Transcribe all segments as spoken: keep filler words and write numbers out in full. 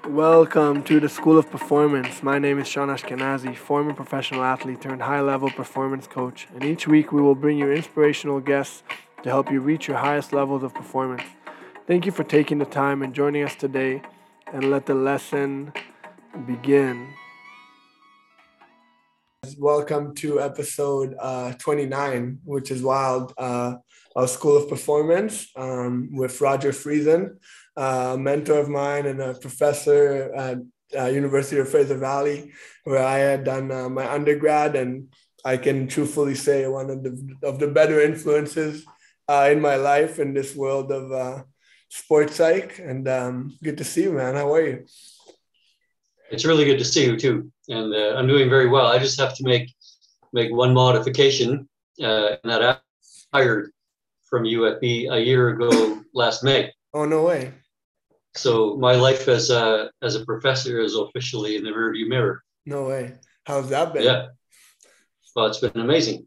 Welcome to the School of Performance. My name is Sean Ashkenazi, former professional athlete turned high level performance coach, and each week we will bring you inspirational guests to help you reach your highest levels of performance. Thank you for taking the time and joining us today, and let the lesson begin. Welcome to episode uh, twenty-nine, which is wild, uh, of School of Performance um, with Roger Friesen, uh, a mentor of mine and a professor at uh, University of Fraser Valley, where I had done uh, my undergrad, and I can truthfully say one of the of the better influences uh, in my life in this world of uh, sports psych. And um, good to see you, man. How are you? It's really good to see you too, and uh, I'm doing very well. I just have to make make one modification, uh, and that I hired from U F B a year ago last May. Oh, no way. So my life as a as a professor is officially in the rearview mirror. No way. How's that been? Yeah, well, it's been amazing.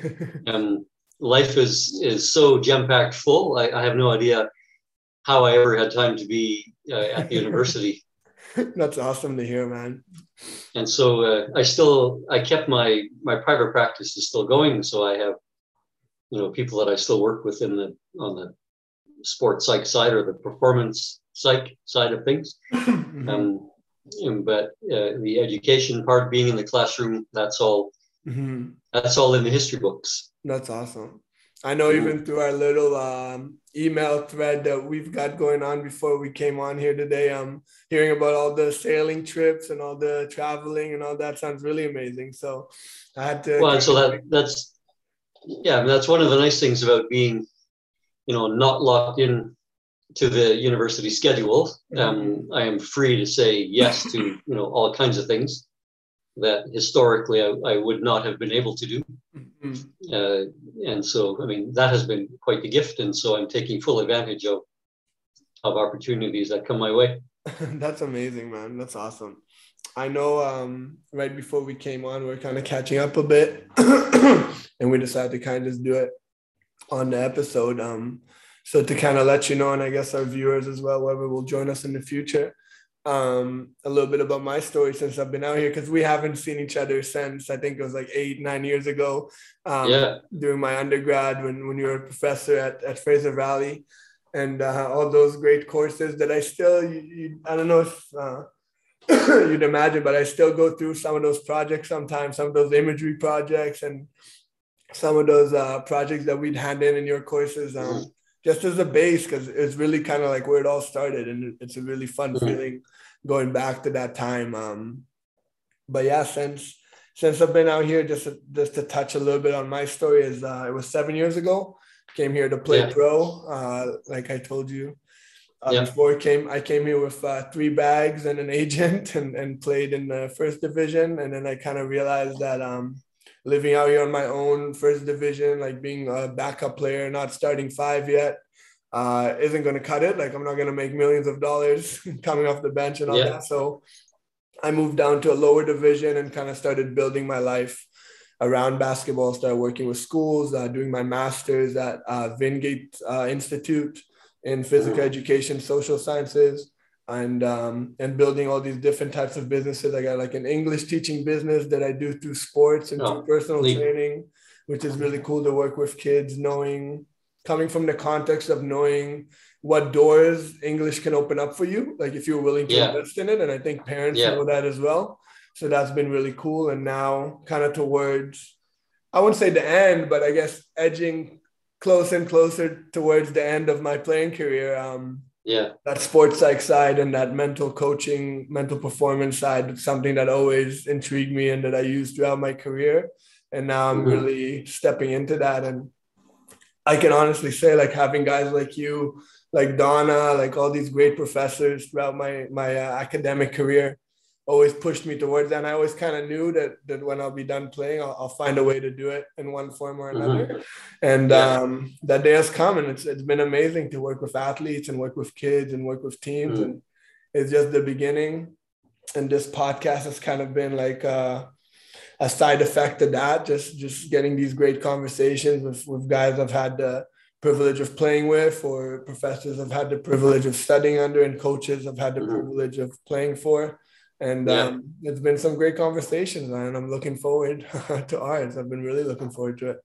um, life is is so jam packed full. I, I have no idea how I ever had time to be uh, at the university. That's awesome to hear, man. And so uh, I still, I kept my, my private practice is still going. So I have, you know, people that I still work with in the, on the sports psych side or the performance psych side of things. Mm-hmm. Um, and, but uh, the education part, being in the classroom, that's all, Mm-hmm. that's all in the history books. That's awesome. I know even through our little um, email thread that we've got going on before we came on here today, um, hearing about all the sailing trips and all the traveling and all that sounds really amazing. So I had to. Well, and so that that's, yeah, that's one of the nice things about being, you know, not locked in to the university schedule. Um, mm-hmm. I am free to say yes to, you know, all kinds of things that historically I, I would not have been able to do. Mm-hmm. Uh, and so, I mean, that has been quite the gift. And so I'm taking full advantage of, of opportunities that come my way. That's amazing, man. That's awesome. I know um, right before we came on, we we're kind of catching up a bit and we decided to kind of just do it on the episode. Um, so to kind of let you know, and I guess our viewers as well, whoever will join us in the future, um, a little bit about my story since I've been out here, because we haven't seen each other since, I think it was like eight, nine years ago, um, yeah. during my undergrad when, when you were a professor at, at Fraser Valley, and uh, all those great courses that I still, you, you, I don't know if uh, you'd imagine, but I still go through some of those projects sometimes, some of those imagery projects and some of those uh, projects that we'd hand in in your courses. Um, mm-hmm. Just as a base, because it's really kind of like where it all started, and it's a really fun mm-hmm. feeling going back to that time. Um, but yeah, since since I've been out here, just just to touch a little bit on my story, is uh, it was seven years ago. Came here to play yeah. pro, uh, like I told you. Uh, yeah. Before I came, I came here with uh, three bags and an agent, and and played in the first division, and then I kind of realized that. Um, living out here on my own, first division, like being a backup player, not starting five yet, uh, isn't going to cut it. Like I'm not going to make millions of dollars coming off the bench and all yeah. that. So I moved down to a lower division and kind of started building my life around basketball, started working with schools, uh, doing my master's at uh, Vingate uh, Institute in physical mm-hmm. education, social sciences. And um, and building all these different types of businesses. I got like an English teaching business that I do through sports and oh, through personal leave. training, which is really cool to work with kids, knowing, coming from the context of knowing what doors English can open up for you, like if you're willing to yeah. invest in it. And I think parents yeah. know that as well. So that's been really cool. And now kind of towards, I wouldn't say the end, but I guess edging closer and closer towards the end of my playing career. Um, Yeah, that sports psych side and that mental coaching, mental performance side is something that always intrigued me and that I used throughout my career. And now I'm mm-hmm. really stepping into that. And I can honestly say, like, having guys like you, like Donna, like all these great professors throughout my, my uh, academic career always pushed me towards that. And I always kind of knew that, that when I'll be done playing, I'll, I'll find a way to do it in one form or another. Mm-hmm. And yeah. um, that day has come, and it's it's been amazing to work with athletes and work with kids and work with teams. Mm-hmm. And it's just the beginning. And this podcast has kind of been like a, a side effect of that, just, just getting these great conversations with, with guys I've had the privilege of playing with, or professors I've had the privilege of studying under, and coaches I've had the mm-hmm. privilege of playing for. And yeah. um, it's been some great conversations, and I'm looking forward to ours. I've been really looking forward to it.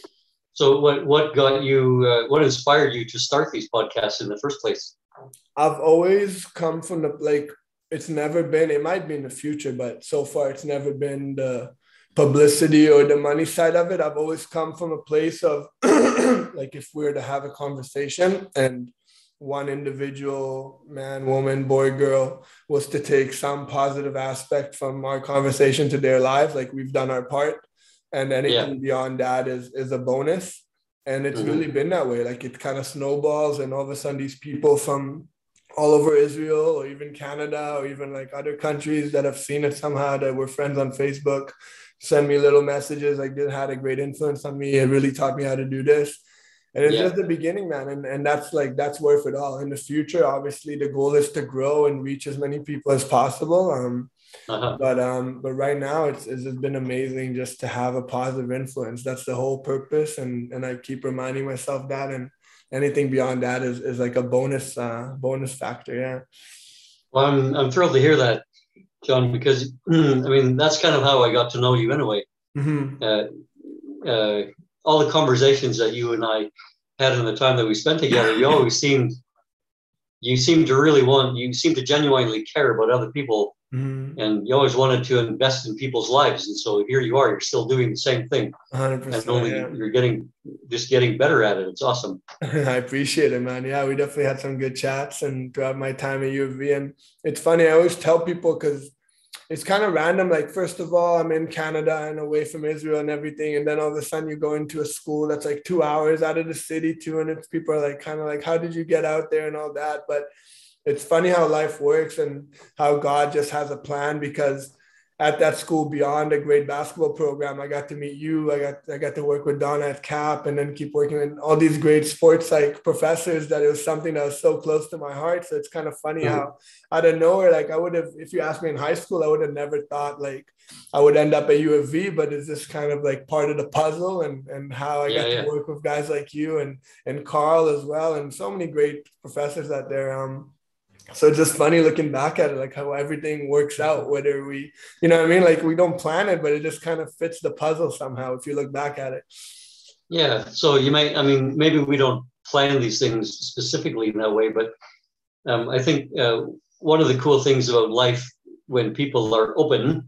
So what, what got you, uh, what inspired you to start these podcasts in the first place? I've always come from the, like, it's never been, it might be in the future, but so far it's never been the publicity or the money side of it. I've always come from a place of like, if we were to have a conversation and one individual man, woman, boy, girl was to take some positive aspect from our conversation to their lives, like we've done our part, and anything yeah. beyond that is is a bonus. And it's mm-hmm. really been that way. Like, it kind of snowballs, and all of a sudden these people from all over Israel, or even Canada, or even like other countries that have seen it somehow, that were friends on Facebook, send me little messages like, this had a great influence on me. It really taught me how to do this. And it's yeah. just the beginning, man. And, and that's like, that's worth it all. In the future, obviously, the goal is to grow and reach as many people as possible. Um, uh-huh. But um, but right now, it's, it's been amazing just to have a positive influence. That's the whole purpose. And, and I keep reminding myself that. And anything beyond that is, is like a bonus, uh, bonus factor. Yeah. Well, I'm, I'm thrilled to hear that, John, because I mean, that's kind of how I got to know you anyway. Mm-hmm. Uh, uh, all the conversations that you and I had in the time that we spent together, you always seemed, you seemed to really want, you seemed to genuinely care about other people, mm-hmm. and you always wanted to invest in people's lives. And so here you are, you're still doing the same thing. one hundred percent, and only yeah. you're getting, just getting better at it. It's awesome. I appreciate it, man. Yeah, we definitely had some good chats and throughout my time at U of V. And it's funny, I always tell people, because it's kind of random. Like, first of all, I'm in Canada and away from Israel and everything. And then all of a sudden you go into a school that's like two hours out of the city too. And it's people are like, kind of like, how did you get out there and all that? But it's funny how life works and how God just has a plan, because at that school, beyond a great basketball program, I got to meet you. I got I got to work with Donna at Cap, and then keep working with all these great sports like professors, that it was something that was so close to my heart. So it's kind of funny mm-hmm. how out of nowhere, like I would have, if you asked me in high school, I would have never thought like I would end up at U of V, but it's just kind of like part of the puzzle, and, and how I yeah, got yeah. to work with guys like you and, and Carl as well, and so many great professors out there. Um, So it's just funny looking back at it, like how everything works out, whether we, you know what I mean? Like, we don't plan it, but it just kind of fits the puzzle somehow if you look back at it. Yeah. So you might, I mean, maybe we don't plan these things specifically in that way, but um, I think uh, one of the cool things about life, when people are open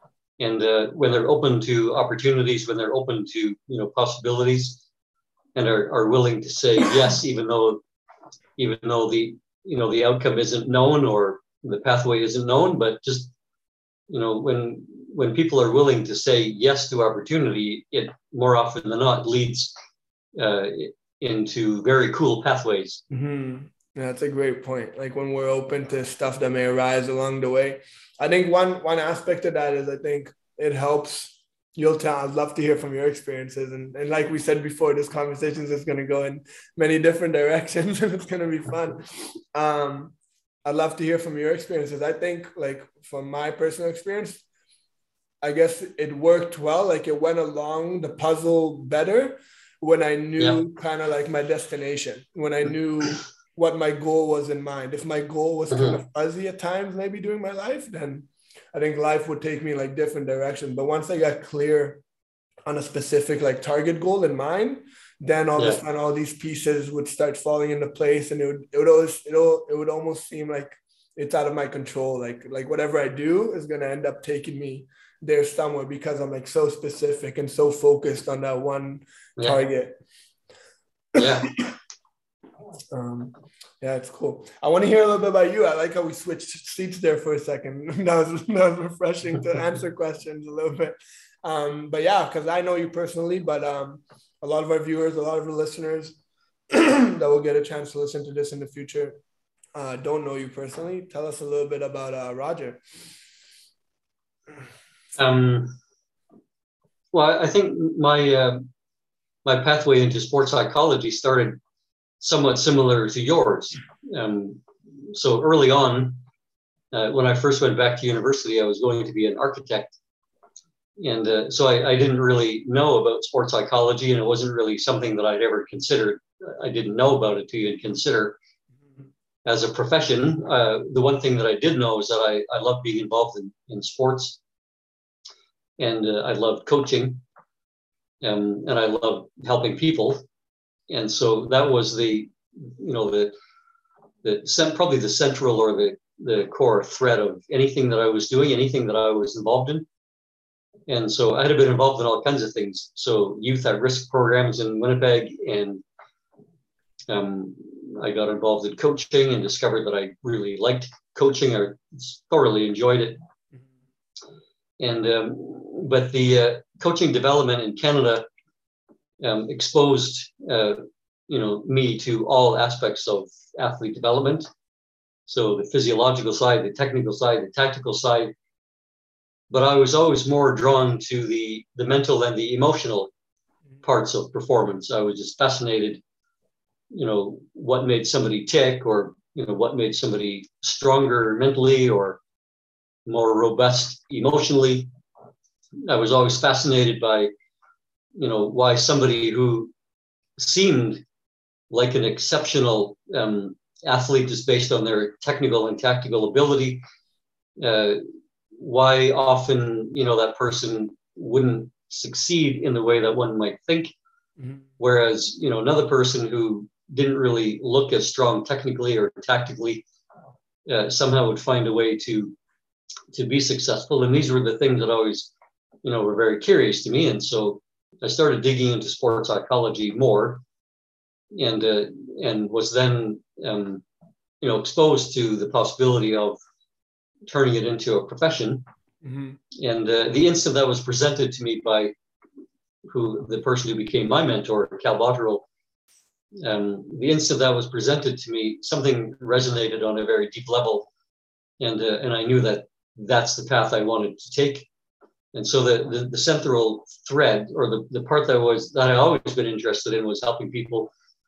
and uh, when they're open to opportunities, when they're open to, you know, possibilities, and are, are willing to say yes, even though, even though the, you know, the outcome isn't known or the pathway isn't known, but just, you know, when, when people are willing to say yes to opportunity, it more often than not leads uh, into very cool pathways. Mm-hmm. Yeah, that's a great point. Like, when we're open to stuff that may arise along the way, I think one, one aspect of that is, I think it helps. You'll tell, I'd love to hear from your experiences. And, and like we said before, this conversation is going to go in many different directions and it's going to be fun. Um, I'd love to hear from your experiences. I think, like, from my personal experience, I guess it worked well. Like, it went along the puzzle better when I knew yeah. kind of like my destination, when I knew what my goal was in mind. If my goal was mm-hmm. kind of fuzzy at times, maybe during my life, then I think life would take me like different directions. But once I got clear on a specific like target goal in mind, then all yeah. of a sudden all these pieces would start falling into place, and it would it would always it would, it would almost seem like it's out of my control. Like like whatever I do is gonna end up taking me there somewhere, because I'm like so specific and so focused on that one yeah. target. Yeah. um, Yeah, it's cool. I want to hear a little bit about you. I like how we switched seats there for a second. That was, that was refreshing to answer questions a little bit. Um, but yeah, because I know you personally, but um, a lot of our viewers, a lot of our listeners that will get a chance to listen to this in the future uh, don't know you personally. Tell us a little bit about uh, Roger. Um, well, I think my uh, my pathway into sports psychology started somewhat similar to yours. Um, so early on, uh, when I first went back to university, I was going to be an architect. And uh, so I, I didn't really know about sports psychology, and it wasn't really something that I'd ever considered I didn't know about it to even consider. As a profession, uh, the one thing that I did know is that I, I love being involved in, in sports, and uh, I love coaching, um, and I love helping people. And so that was the, you know, the, the probably the central or the, the core thread of anything that I was doing, anything that I was involved in. And so I had been involved in all kinds of things. So youth at risk programs in Winnipeg, and um, I got involved in coaching and discovered that I really liked coaching. I thoroughly enjoyed it. And um, but the uh, coaching development in Canada um, exposed uh, you know me to all aspects of athlete development. So the physiological side, the technical side, the tactical side. But I was always more drawn to the the mental and the emotional parts of performance. I was just fascinated, you know, what made somebody tick, or, you know, what made somebody stronger mentally or more robust emotionally. I was always fascinated by, you know, why somebody who seemed like an exceptional um, athlete just based on their technical and tactical ability, uh, why often, you know, that person wouldn't succeed in the way that one might think. Mm-hmm. Whereas, you know, another person who didn't really look as strong technically or tactically uh, somehow would find a way to to be successful. And these were the things that always, you know, were very curious to me. And so I started digging into sports psychology more, and uh, and was then um, you know, exposed to the possibility of turning it into a profession. Mm-hmm. And uh, the instant that was presented to me by who the person who became my mentor, Cal Botterill, um, the instant that was presented to me, something resonated on a very deep level, and uh, and I knew that that's the path I wanted to take. And so the the, the central thread, or the, the part that was that I always been interested in, was helping people,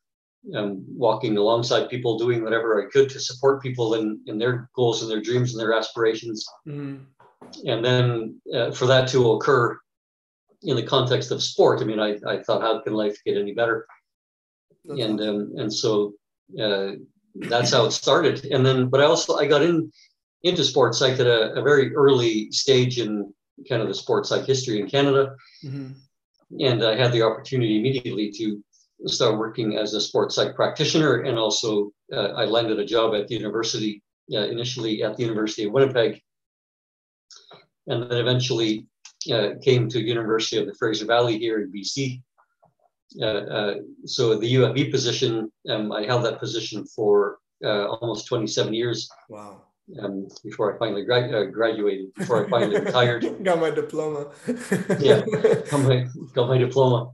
um, walking alongside people, doing whatever I could to support people in, in their goals and their dreams and their aspirations. Mm. And then uh, for that to occur in the context of sport, I mean, I, I thought, how can life get any better? That's and awesome. um, and so uh, that's how it started. And then, but I also, I got in into sports psych at a, a very early stage in kind of the sports psych history in Canada. Mm-hmm. And I had the opportunity immediately to start working as a sports psych practitioner. And also uh, I landed a job at the university, uh, initially at the University of Winnipeg, and then eventually uh, came to University of the Fraser Valley here in B C. Uh, uh, so the U F V position, um, I held that position for uh, almost twenty-seven years. Wow. Um, before I finally gra- uh, graduated, before I finally retired. Got my diploma. yeah, got my, got my diploma.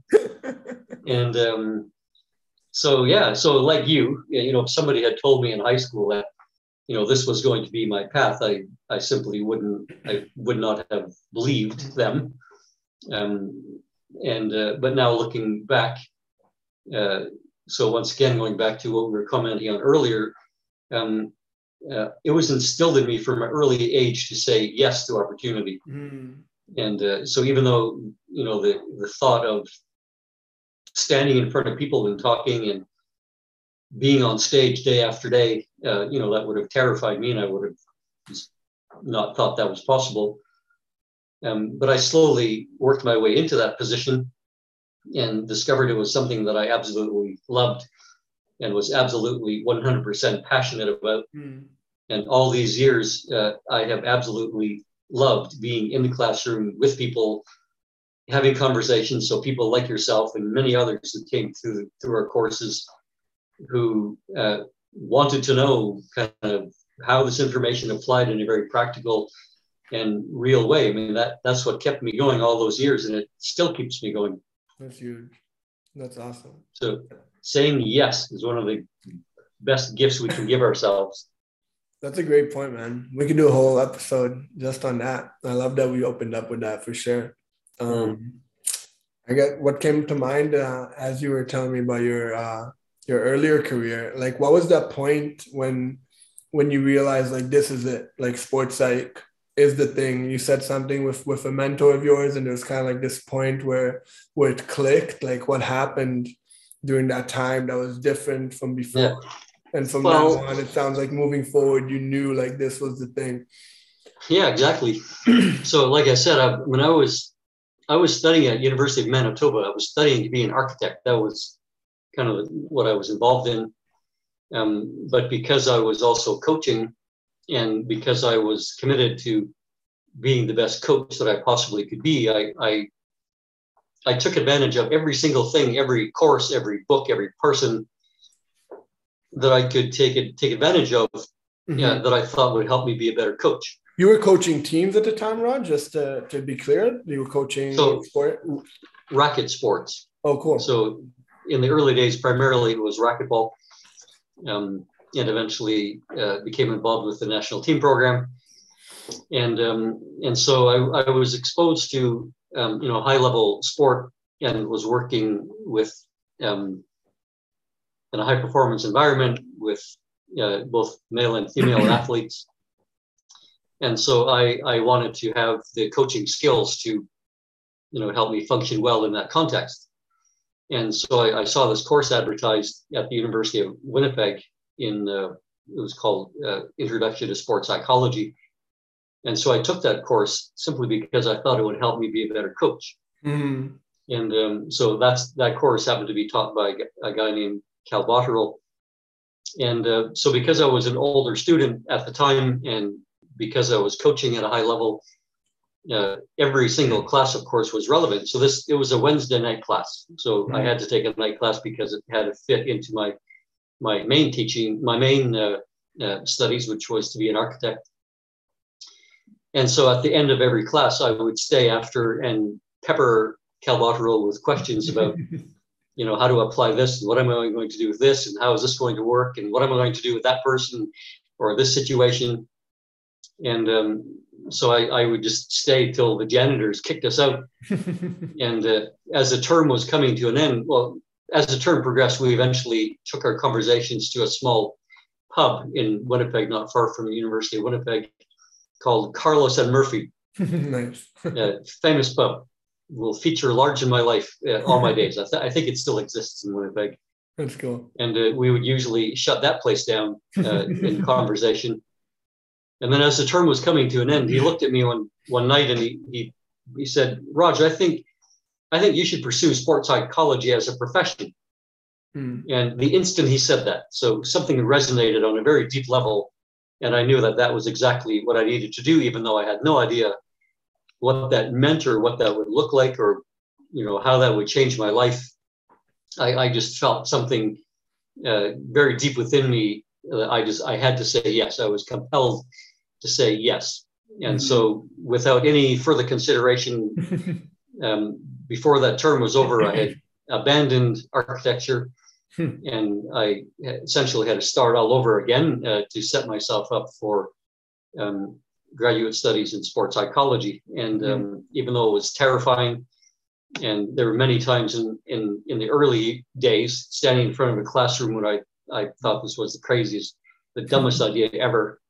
And um, so, yeah, so like you, you know, if somebody had told me in high school that, you know, this was going to be my path, I, I simply wouldn't, I would not have believed them. Um, and, uh, but now looking back, uh, so once again, going back to what we were commenting on earlier, um, uh, it was instilled in me from an early age to say yes to opportunity. Mm. And uh, so even though, you know, the, the thought of standing in front of people and talking and being on stage day after day, uh, you know, that would have terrified me, and I would have just not thought that was possible. Um, but I slowly worked my way into that position and discovered it was something that I absolutely loved and was absolutely one hundred percent passionate about. Mm. And all these years, uh, I have absolutely loved being in the classroom with people, having conversations. So people like yourself and many others who came through through our courses, who uh, wanted to know kind of how this information applied in a very practical and real way. I mean, that that's what kept me going all those years, and it still keeps me going. That's huge. That's awesome. So saying yes is one of the best gifts we can give ourselves. That's a great point, man. We could do a whole episode just on that. I love that we opened up with that for sure. Um, mm. I get what came to mind uh, as you were telling me about your uh, your earlier career. Like, what was that point when when you realized, like, this is it? Like, sports psych is the thing. You said something with with a mentor of yours, and it was kind of like this point where where it clicked. Like, what happened during that time that was different from before? Yeah. And from Well, now on, it sounds like moving forward, you knew like this was the thing. yeah, exactly. So, like I said, I, when I was I was studying at University of Manitoba, I was studying to be an architect. That was kind of what I was involved in. Um, but because I was also coaching, and because I was committed to being the best coach that I possibly could be, I, I I took advantage of every single thing, every course, every book, every person that I could take it, take advantage of, mm-hmm. yeah, that I thought would help me be a better coach. You were coaching teams at the time, Rod, just to, to be clear? You were coaching so, sport? Racket sports. Oh, cool. So in the early days, primarily it was racquetball, um, and eventually uh, became involved with the national team program. And um, and so I, I was exposed to, um, you know, high level sport, and was working with um, in a high performance environment with uh, both male and female athletes. And so I, I wanted to have the coaching skills to, you know, help me function well in that context. And so I, I saw this course advertised at the University of Winnipeg in, uh, it was called uh, Introduction to Sports Psychology. And so I took that course simply because I thought it would help me be a better coach. Mm-hmm. And um, so that's that course happened to be taught by a guy named Cal Botterill. And uh, so because I was an older student at the time, and because I was coaching at a high level, uh, every single class, of course, was relevant. So this, it was a Wednesday night class. So mm-hmm. I had to take a night class because it had to fit into my, my main teaching, my main uh, uh, studies, which was to be an architect. And so at the end of every class, I would stay after and pepper Cal Botterill with questions about, you know, how to apply this, and what am I going to do with this, and how is this going to work, and what am I going to do with that person or this situation. And um, so I, I would just stay till the janitors kicked us out. And uh, as the term was coming to an end, well, as the term progressed, we eventually took our conversations to a small pub in Winnipeg, not far from the University of Winnipeg, called Carlos and Murphy. Nice. uh, famous pub. Will feature large in my life uh, all my days. I, th- I think it still exists in Winnipeg. That's cool. And uh, we would usually shut that place down uh, in conversation. And then as the term was coming to an end, he looked at me one one night and he he he said, "Roger, I think I think you should pursue sports psychology as a profession." Hmm. And the instant he said that, so something resonated on a very deep level, and I knew that that was exactly what I needed to do, even though I had no idea what that meant or what that would look like, or, you know, how that would change my life. I, I just felt something uh, very deep within me. Uh, I just, I had to say yes. I was compelled to say yes. And mm-hmm. so without any further consideration, um, before that term was over, I had abandoned architecture and I essentially had to start all over again uh, to set myself up for um, graduate studies in sports psychology. And um, mm-hmm. even though it was terrifying, and there were many times in, in, in the early days standing in front of a classroom when I, I thought this was the craziest, the dumbest idea ever.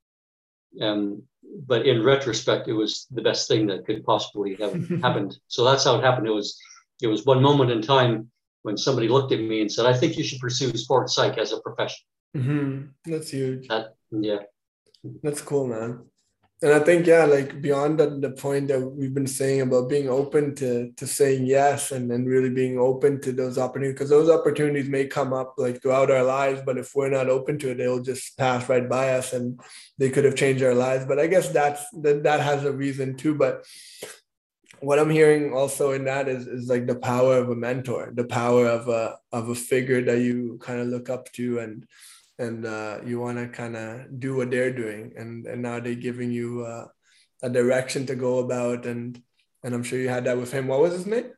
Um, but in retrospect, it was the best thing that could possibly have happened. So that's how it happened. It was, it was one moment in time when somebody looked at me and said, "I think you should pursue sports psych as a profession." Mm-hmm. That's huge. That, yeah. That's cool, man. And I think, yeah, like beyond the, the point that we've been saying about being open to to saying yes, and then really being open to those opportunities, because those opportunities may come up like throughout our lives, but if we're not open to it, they'll just pass right by us and they could have changed our lives. But I guess that's that, that has a reason too. But what I'm hearing also in that is, is like the power of a mentor, the power of a of a figure that you kind of look up to, and and uh, you want to kind of do what they're doing. And, and now they're giving you uh, a direction to go about. And and I'm sure you had that with him. What was his name?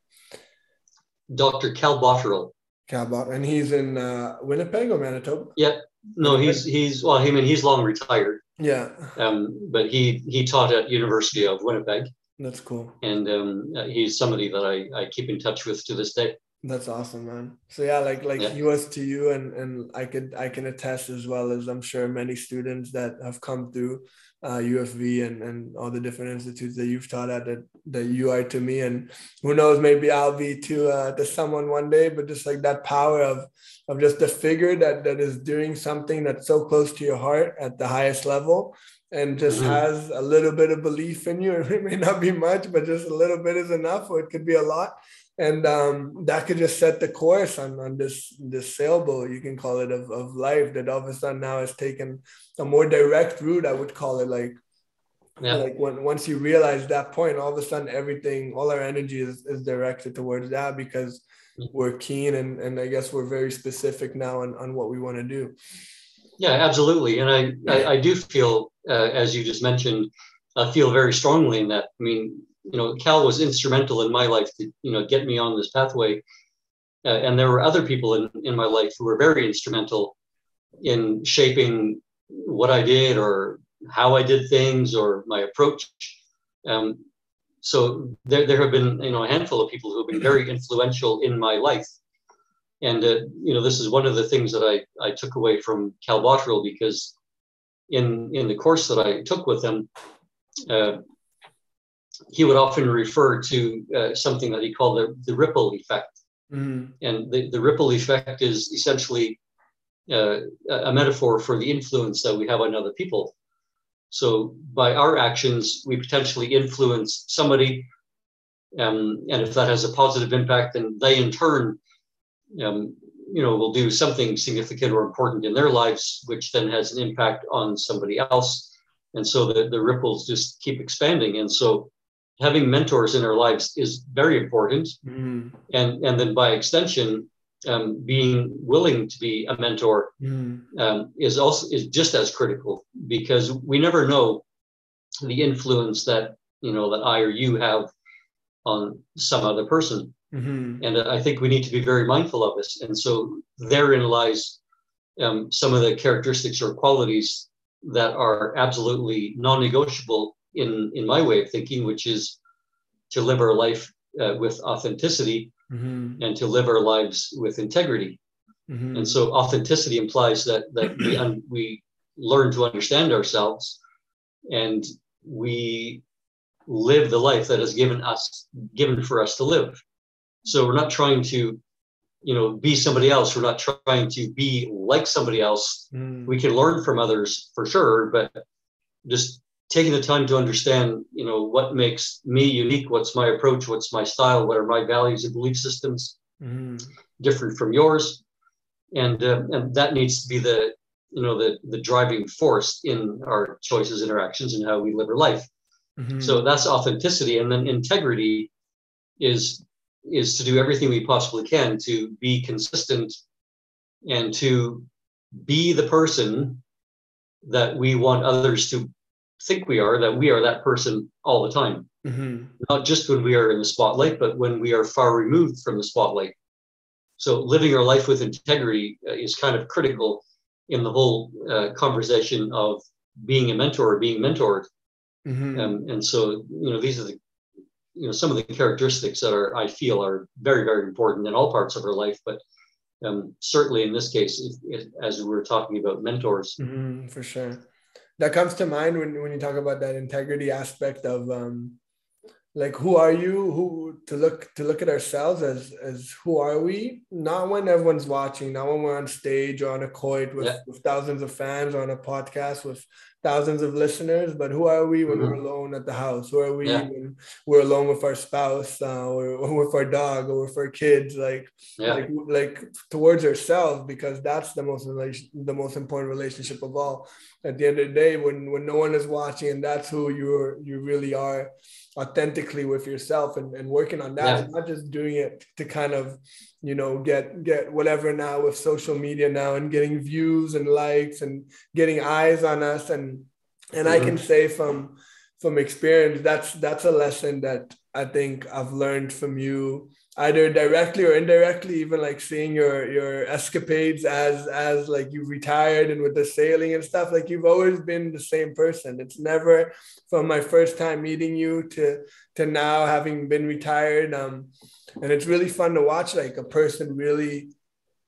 Doctor Cal Botterill. Cal Botterill. And he's in uh, Winnipeg or Manitoba? Yeah. No, Winnipeg? he's, he's well, I mean, he's long retired. Yeah. Um, but he, he taught at University of Winnipeg. That's cool. And um, he's somebody that I, I keep in touch with to this day. That's awesome, man. So yeah, like like yeah. he was to you, and and I could I can attest, as well as I'm sure many students that have come through uh, U F V and, and all the different institutes that you've taught at, that, that you are to me. And who knows, maybe I'll be to, uh, to someone one day, but just like that power of, of just a figure that, that is doing something that's so close to your heart at the highest level, and just mm-hmm. has a little bit of belief in you. It may not be much, but just a little bit is enough, or it could be a lot. And um, that could just set the course on, on this, this sailboat, you can call it, of, of life, that all of a sudden now has taken a more direct route, I would call it. Like, yeah. like when, once you realize that point, all of a sudden everything, all our energy is, is directed towards that, because we're keen, and, and I guess we're very specific now on, on what we want to do. Yeah, absolutely. And I, I, I do feel, uh, as you just mentioned, I feel very strongly in that. I mean, you know, Cal was instrumental in my life to, you know, get me on this pathway. Uh, and there were other people in, in my life who were very instrumental in shaping what I did, or how I did things, or my approach. Um, so there, there have been, you know, a handful of people who have been very influential in my life. And, uh, you know, this is one of the things that I, I took away from Cal Botterill, because in, in the course that I took with him, uh, he would often refer to uh, something that he called the, the ripple effect. Mm-hmm. And the, the ripple effect is essentially uh, a metaphor for the influence that we have on other people. So by our actions, we potentially influence somebody. Um, and if that has a positive impact, then they in turn, um, you know, will do something significant or important in their lives, which then has an impact on somebody else. And so the, the ripples just keep expanding. And so having mentors in our lives is very important. Mm. And, and then by extension, um, being willing to be a mentor mm. um, is also is just as critical, because we never know the influence that, you know, that I or you have on some other person. Mm-hmm. And I think we need to be very mindful of this. And so therein lies um, some of the characteristics or qualities that are absolutely non-negotiable in, in my way of thinking, which is to live our life uh, with authenticity, mm-hmm. and to live our lives with integrity. Mm-hmm. And so authenticity implies that, that we, un- we learn to understand ourselves, and we live the life that is given us, given for us to live. So we're not trying to, you know, be somebody else. We're not trying to be like somebody else. Mm. We can learn from others for sure, but just taking the time to understand, you know, what makes me unique, what's my approach, what's my style, what are my values and belief systems, mm. different from yours. And, uh, and that needs to be the, you know, the, the driving force in our choices, interactions, and how we live our life. Mm-hmm. So that's authenticity. And then integrity is is to do everything we possibly can to be consistent and to be the person that we want others to think we are, that we are that person all the time. Mm-hmm. Not just when we are in the spotlight, but when we are far removed from the spotlight. So living our life with integrity is kind of critical in the whole uh, conversation of being a mentor or being mentored. Mm-hmm. Um, and so, you know, these are the you know, some of the characteristics that are, I feel, are very, very important in all parts of our life. But um, certainly in this case, if, if, as we were talking about mentors. Mm-hmm, for sure. That comes to mind when, when you talk about that integrity aspect of um, like, who are you, who to look, to look at ourselves as, as who are we? Not when everyone's watching, not when we're on stage or on a court with, yeah. with thousands of fans, or on a podcast with thousands of listeners, but who are we when mm-hmm. we're alone at the house? Who are we yeah. when we're alone with our spouse, uh, or, or with our dog, or with our kids? Like, yeah. like, like towards ourselves, because that's the most relation, the most important relationship of all. At the end of the day, when when no one is watching, and that's who you're, you really are, authentically with yourself, and, and working on that, yeah. not just doing it to kind of, you know, get get whatever now with social media now, and getting views and likes and getting eyes on us. And and mm-hmm. I can say from from experience, that's that's a lesson that I think I've learned from you, either directly or indirectly, even like seeing your your escapades as as like you retired and with the sailing and stuff. Like, you've always been the same person. It's never from my first time meeting you to to now having been retired. Um, and it's really fun to watch, like, a person really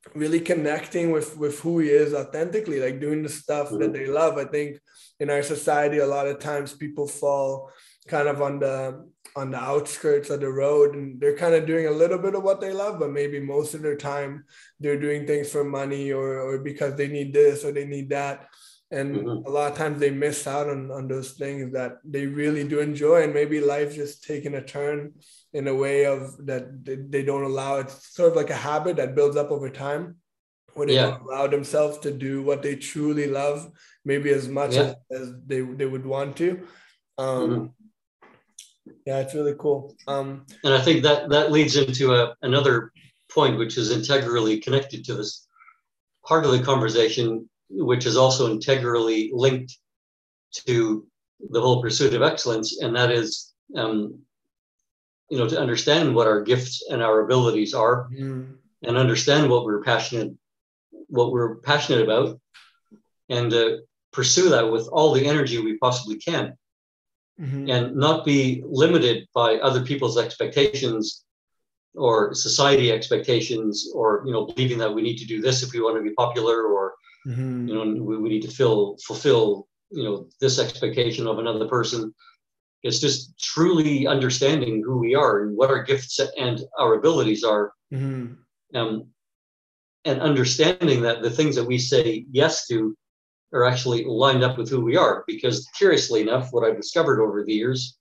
really connecting with with who he is authentically, like doing the stuff mm-hmm. that they love. I think in our society, a lot of times people fall kind of on the on the outskirts of the road, and they're kind of doing a little bit of what they love, but maybe most of their time they're doing things for money or or because they need this or they need that. And mm-hmm. a lot of times they miss out on, on those things that they really do enjoy. And maybe life just taking a turn in a way of that they, they don't allow. It's sort of like a habit that builds up over time where they yeah. don't allow themselves to do what they truly love, maybe as much yeah. as, as they, they would want to. Um, mm-hmm. Yeah, it's really cool. Um, and I think that that leads into a, another point, which is integrally connected to this part of the conversation, which is also integrally linked to the whole pursuit of excellence. And that is, um, you know, to understand what our gifts and our abilities are mm. and understand what we're passionate, what we're passionate about, and uh, pursue that with all the energy we possibly can. Mm-hmm. And not be limited by other people's expectations or society expectations, or, you know, believing that we need to do this if we want to be popular, or, mm-hmm. you know, we, we need to fill, fulfill, you know, this expectation of another person. It's just truly understanding who we are and what our gifts and our abilities are. Mm-hmm. Um, and understanding that the things that we say yes to are actually lined up with who we are. Because curiously enough, what I've discovered over the years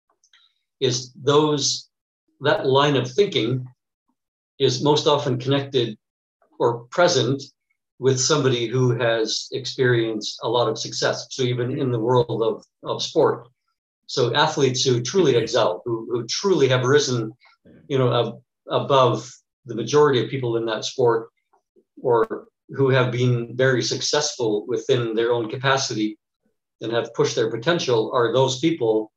is those, that line of thinking is most often connected or present with somebody who has experienced a lot of success. So even in the world of, of sport. So athletes who truly excel, who, who truly have risen, you know, ab- above the majority of people in that sport, or who have been very successful within their own capacity and have pushed their potential, are those people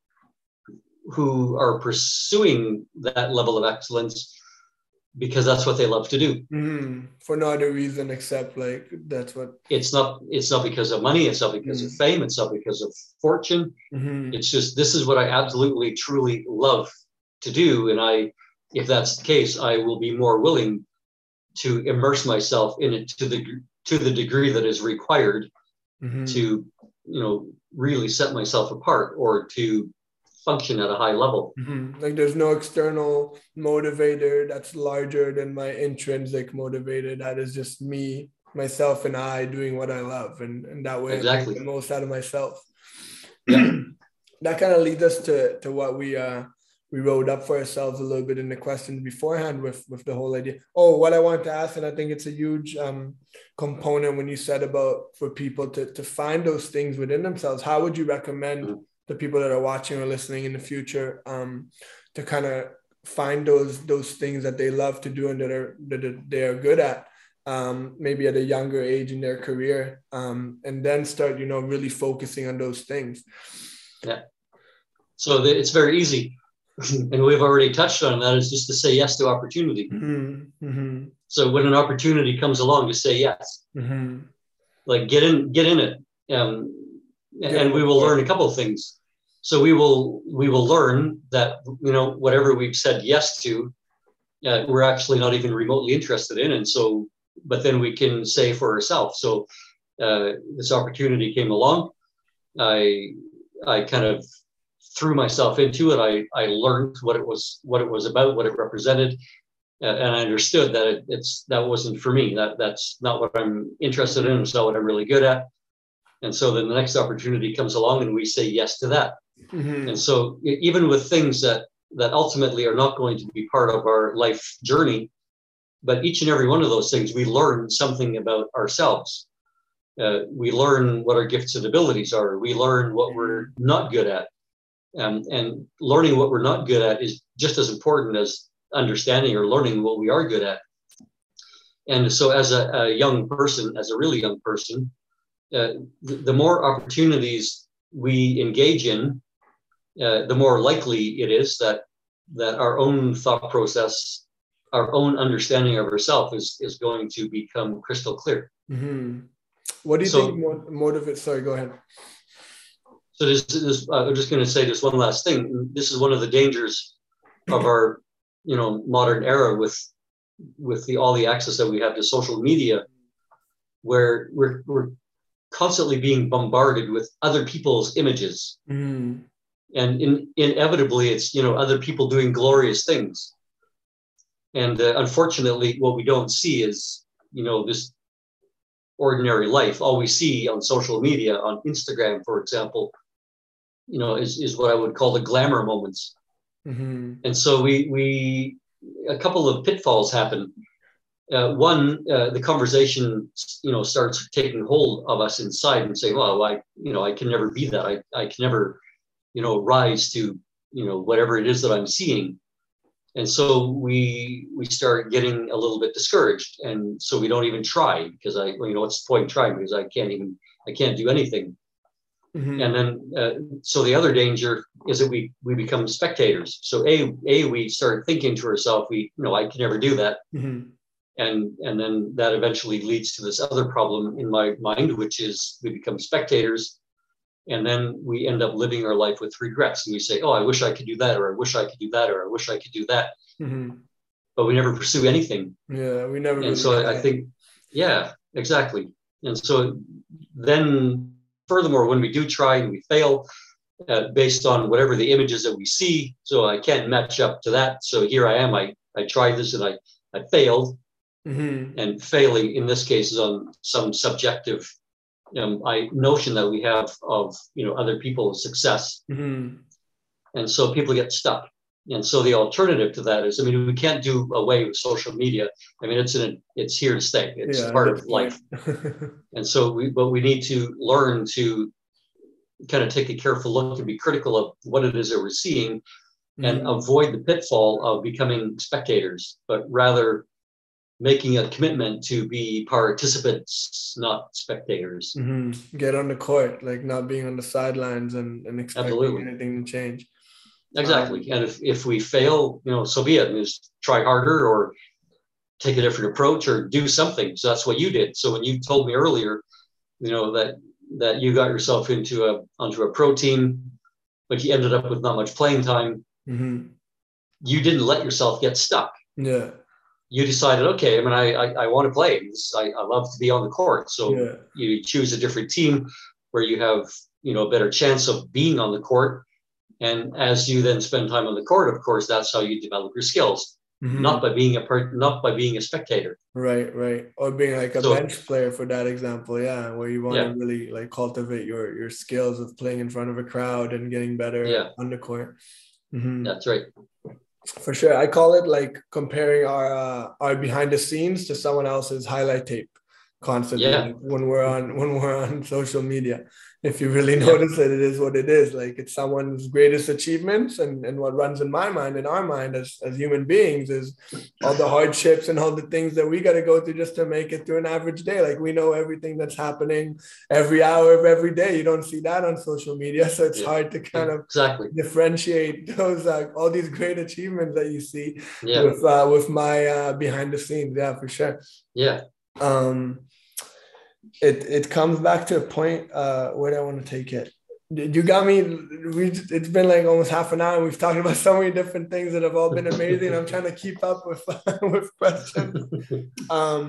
who are pursuing that level of excellence because that's what they love to do. Mm-hmm. For no other reason except like that's what it's not. It's not because of money. It's not because mm-hmm. of fame. It's not because of fortune. Mm-hmm. It's just, this is what I absolutely, truly love to do. And I, if that's the case, I will be more willing to immerse myself in it to the to the degree that is required mm-hmm. to, you know, really set myself apart or to function at a high level. Mm-hmm. Like there's no external motivator that's larger than my intrinsic motivator. That is just me, myself, and I doing what I love, and, and that way exactly. I make the most out of myself. Yeah. That kind of leads us to to what we uh we wrote up for ourselves a little bit in the questions beforehand with, with the whole idea. Oh, what I wanted to ask, and I think it's a huge um, component when you said about for people to, to find those things within themselves. How would you recommend mm-hmm. the people that are watching or listening in the future um, to kind of find those those things that they love to do and that are that they are good at, um, maybe at a younger age in their career, um, and then start, you know, really focusing on those things? Yeah. So the, it's very easy. And we've already touched on that, is just to say yes to opportunity. Mm-hmm. Mm-hmm. So when an opportunity comes along, just say yes. Mm-hmm. Like get in, get in it, um, and we will learn a couple of things. So we will we will learn that, you know, whatever we've said yes to, uh, we're actually not even remotely interested in, and so, but then we can say for ourselves. So uh, this opportunity came along, I I kind of threw myself into it. I, I learned what it was, what it was about, what it represented. Uh, and I understood that it, it's, that wasn't for me. That that's not what I'm interested in. It's not what I'm really good at. And so then the next opportunity comes along and we say yes to that. Mm-hmm. And so even with things that, that ultimately are not going to be part of our life journey, but each and every one of those things, we learn something about ourselves. Uh, we learn what our gifts and abilities are. We learn what we're not good at. Um, and learning what we're not good at is just as important as understanding or learning what we are good at. And so as a, a young person, as a really young person, uh, the, the more opportunities we engage in, uh, the more likely it is that that our own thought process, our own understanding of ourselves is, is going to become crystal clear. Mm-hmm. What do you so, think motivates? Sorry, go ahead. So this, this, uh, I'm just going to say this one last thing. This is one of the dangers of our, you know, modern era with with the all the access that we have to social media, where we're we're constantly being bombarded with other people's images. Mm. And in, inevitably, it's, you know, other people doing glorious things. And uh, unfortunately, what we don't see is, you know, this ordinary life. All we see on social media, on Instagram, for example, you know, is, is what I would call the glamour moments. Mm-hmm. And so we, we, a couple of pitfalls happen. Uh, one, uh, the conversation, you know, starts taking hold of us inside and say, well, I, you know, I can never be that. I, I can never, you know, rise to, you know, whatever it is that I'm seeing. And so we we start getting a little bit discouraged. And so we don't even try, because I, you know, what's the point in trying? Because I can't even, I can't do anything. Mm-hmm. And then, uh, so the other danger is that we, we become spectators. So A, A, we start thinking to ourselves, we, you know, I can never do that. Mm-hmm. And, and then that eventually leads to this other problem in my mind, which is we become spectators. And then we end up living our life with regrets. And we say, oh, I wish I could do that, or I wish I could do that, or I wish I could do that. Mm-hmm. But we never pursue anything. Yeah, we never. And really so I, I think, yeah, exactly. And so then furthermore, when we do try and we fail uh, based on whatever the images that we see, so I can't match up to that. So here I am, I, I tried this and I, I failed. Mm-hmm. And failing in this case is on some subjective Um, I notion that we have of, you know, other people's success. Mm-hmm. And so people get stuck. And so the alternative to that is, I mean, we can't do away with social media. I mean, it's in, it's here to stay. It's yeah, part of life. And so we, but we need to learn to kind of take a careful look and be critical of what it is that we're seeing, mm-hmm. and avoid the pitfall of becoming spectators, but rather making a commitment to be participants, not spectators. Mm-hmm. Get on the court, like not being on the sidelines and, and expecting Absolutely. anything to change. Exactly. Um, and if, if we fail, you know, so be it. Just try harder or take a different approach or do something. So that's what you did. So when you told me earlier, you know, that that you got yourself into a onto a pro team, but you ended up with not much playing time, mm-hmm. you didn't let yourself get stuck. Yeah. You decided, okay, I mean, I I, I want to play. I, I love to be on the court. So yeah. you choose a different team where you have, you know, a better chance of being on the court. And as you then spend time on the court, of course, that's how you develop your skills, mm-hmm. not by being a per, not by being a spectator. Right, right. Or being like a so, bench player for that example, yeah, where you want yeah. to really like cultivate your your skills of playing in front of a crowd and getting better yeah. on the court. Mm-hmm. That's right. For sure. I call it like comparing our uh, our behind the scenes to someone else's highlight tape constantly yeah. like when we're on when we're on social media. If you really notice yeah. it, it is what it is. Like it's someone's greatest achievements, and, and what runs in my mind, in our mind as, as human beings, is all the hardships and all the things that we got to go through just to make it through an average day. Like we know everything that's happening every hour of every day. You don't see that on social media. So it's yeah. hard to kind of exactly. differentiate those, uh, all these great achievements that you see yeah. with, uh, with my uh, behind the scenes. Yeah, for sure. Yeah. Um, It it comes back to a point uh, where I want to take it. You got me. We it's been like almost half an hour. And we've talked about so many different things that have all been amazing. I'm trying to keep up with with questions. Um,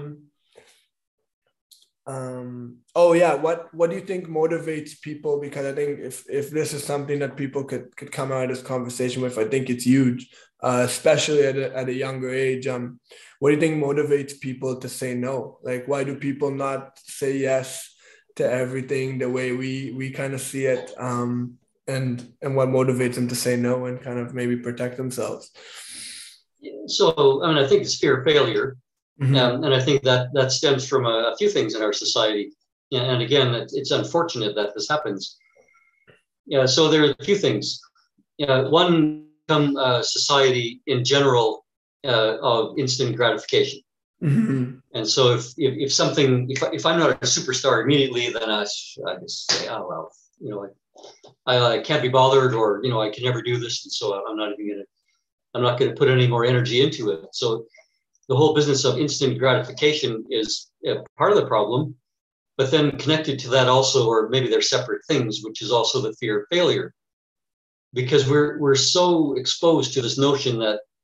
um, oh yeah, what what do you think motivates people? Because I think if if this is something that people could could come out of this conversation with, I think it's huge, uh, especially at a, at a younger age. Um, what do you think motivates people to say no? Like, why do people not say yes to everything the way we we kind of see it? Um, and and what motivates them to say no and kind of maybe protect themselves? So, I mean, I think it's fear of failure. Mm-hmm. Um, and I think that that stems from a, a few things in our society. And again, it, it's unfortunate that this happens. Yeah, so there are a few things. Yeah, one, uh, society in general uh, of instant gratification. Mm-hmm. And so if, if if something, if if I'm not a superstar immediately, then I, I just say, oh well, you know, I, I can't be bothered, or you know, I can never do this, and so I'm not even gonna, I'm not gonna put any more energy into it. So the whole business of instant gratification is part of the problem, but then connected to that also, or maybe they're separate things, which is also the fear of failure, because we're we're so exposed to this notion that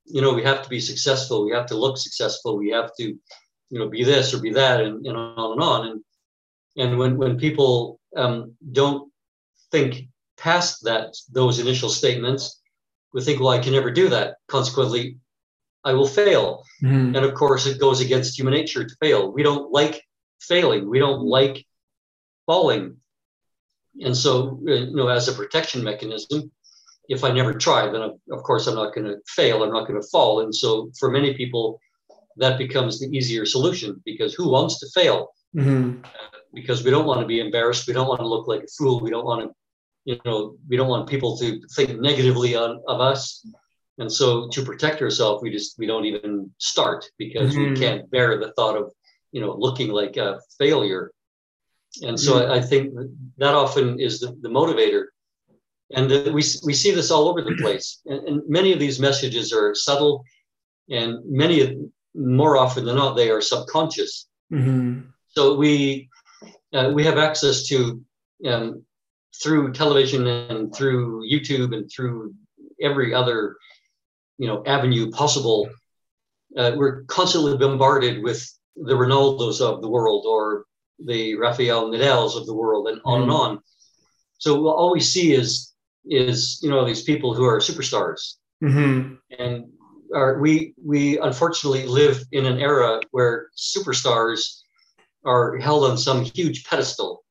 you know, we have to be successful. We have to look successful. We have to, you know, be this or be that, and, and on and on. And and when when people um, don't think past that, those initial statements, we think, well, I can never do that. Consequently, I will fail. Mm-hmm. And of course, it goes against human nature to fail. We don't like failing. We don't like falling. And so, you know, as a protection mechanism, if I never try, then of course I'm not going to fail. I'm not going to fall. And so for many people, that becomes the easier solution, because who wants to fail? Mm-hmm. Uh, because we don't want to be embarrassed. We don't want to look like a fool. We don't want to, you know, we don't want people to think negatively on, of us. And so to protect ourselves, we just, we don't even start, because mm-hmm. we can't bear the thought of, you know, looking like a failure. And so mm-hmm. I, I think that often is the, the motivator. And uh, we, we see this all over the place. And, and many of these messages are subtle, and many of, more often than not, they are subconscious. Mm-hmm. So we, uh, we have access to, um, through television and through YouTube and through every other, you know, avenue possible. Uh, we're constantly bombarded with the Ronaldos of the world, or the Rafael Nadals of the world, and on mm-hmm. and on. So all we see is, is, you know, these people who are superstars. Mm-hmm. And are, we, we unfortunately live in an era where superstars are held on some huge pedestal.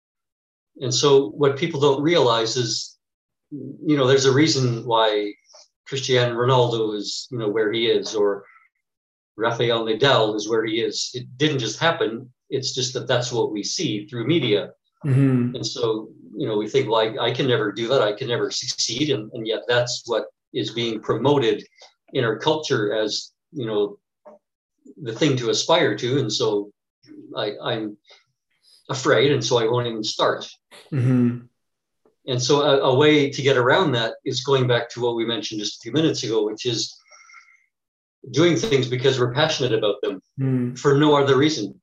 And so what people don't realize is, you know, there's a reason why Cristiano Ronaldo is, you know, where he is, or Rafael Nadal is where he is. It didn't just happen. It's just that that's what we see through media. Mm-hmm. And so, you know, we think, well, I, I can never do that. I can never succeed. And, and yet that's what is being promoted in our culture as, you know, the thing to aspire to. And so I, I'm afraid, and so I won't even start. Mm-hmm. And so a, a way to get around that is going back to what we mentioned just a few minutes ago, which is doing things because we're passionate about them mm. for no other reason.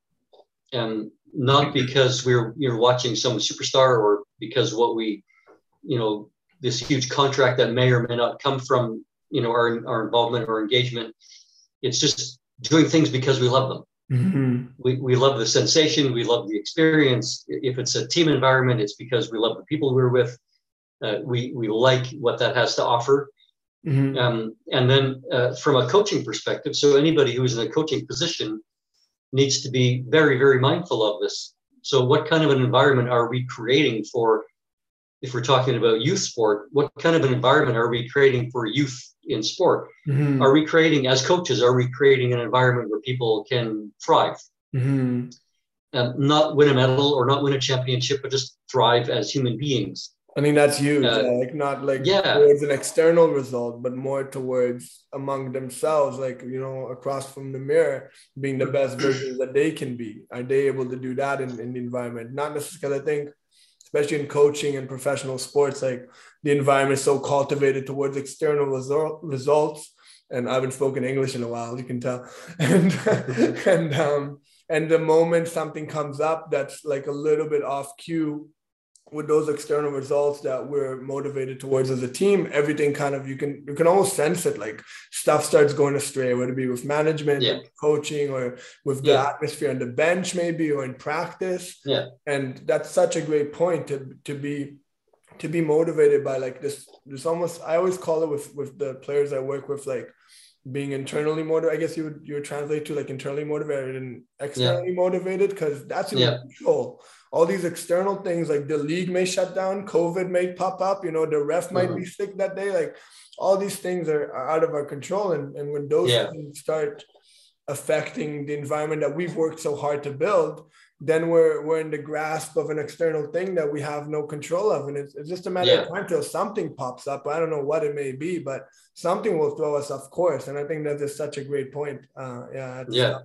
And not because we're, you're watching some superstar, or because what we, you know, this huge contract that may or may not come from, you know, our, our involvement or engagement. It's just doing things because we love them. Mm-hmm. We, we love the sensation. We love the experience. If it's a team environment, it's because we love the people we're with. Uh, we, we like what that has to offer. Mm-hmm. Um, and then uh, from a coaching perspective, so anybody who's in a coaching position needs to be very, very mindful of this. So what kind of an environment are we creating for, if we're talking about youth sport, what kind of an environment are we creating for youth in sport? Mm-hmm. Are we creating, as coaches, are we creating an environment where people can thrive? Mm-hmm. Um, not win a medal or not win a championship, but just thrive as human beings. I think that's huge. Uh, like not like yeah. towards an external result, but more towards among themselves, like, you know, across from the mirror, being the best versions that they can be. Are they able to do that in, in the environment? Not necessarily, I think, especially in coaching and professional sports, like the environment is so cultivated towards external result, results. And I haven't spoken English in a while, you can tell. And, and, um, and the moment something comes up that's like a little bit off cue with those external results that we're motivated towards as a team, everything kind of, you can, you can almost sense it, like stuff starts going astray, whether it be with management, yeah. coaching, or with the yeah. atmosphere on the bench, maybe, or in practice. Yeah. And that's such a great point to, to be, to be motivated by like this, this almost, I always call it with, with the players I work with, like being internally motivated. I guess you would, you would translate to like internally motivated and externally yeah. motivated, because that's in yeah. control. All these external things, like the league may shut down, COVID may pop up, you know, the ref might mm-hmm. be sick that day. Like all these things are, are out of our control. And, and when those yeah. things start affecting the environment that we've worked so hard to build, then we're, we're in the grasp of an external thing that we have no control of. And it's, it's just a matter yeah. of time till something pops up. I don't know what it may be, but something will throw us off course. And I think that is such a great point. Uh, yeah. Yeah.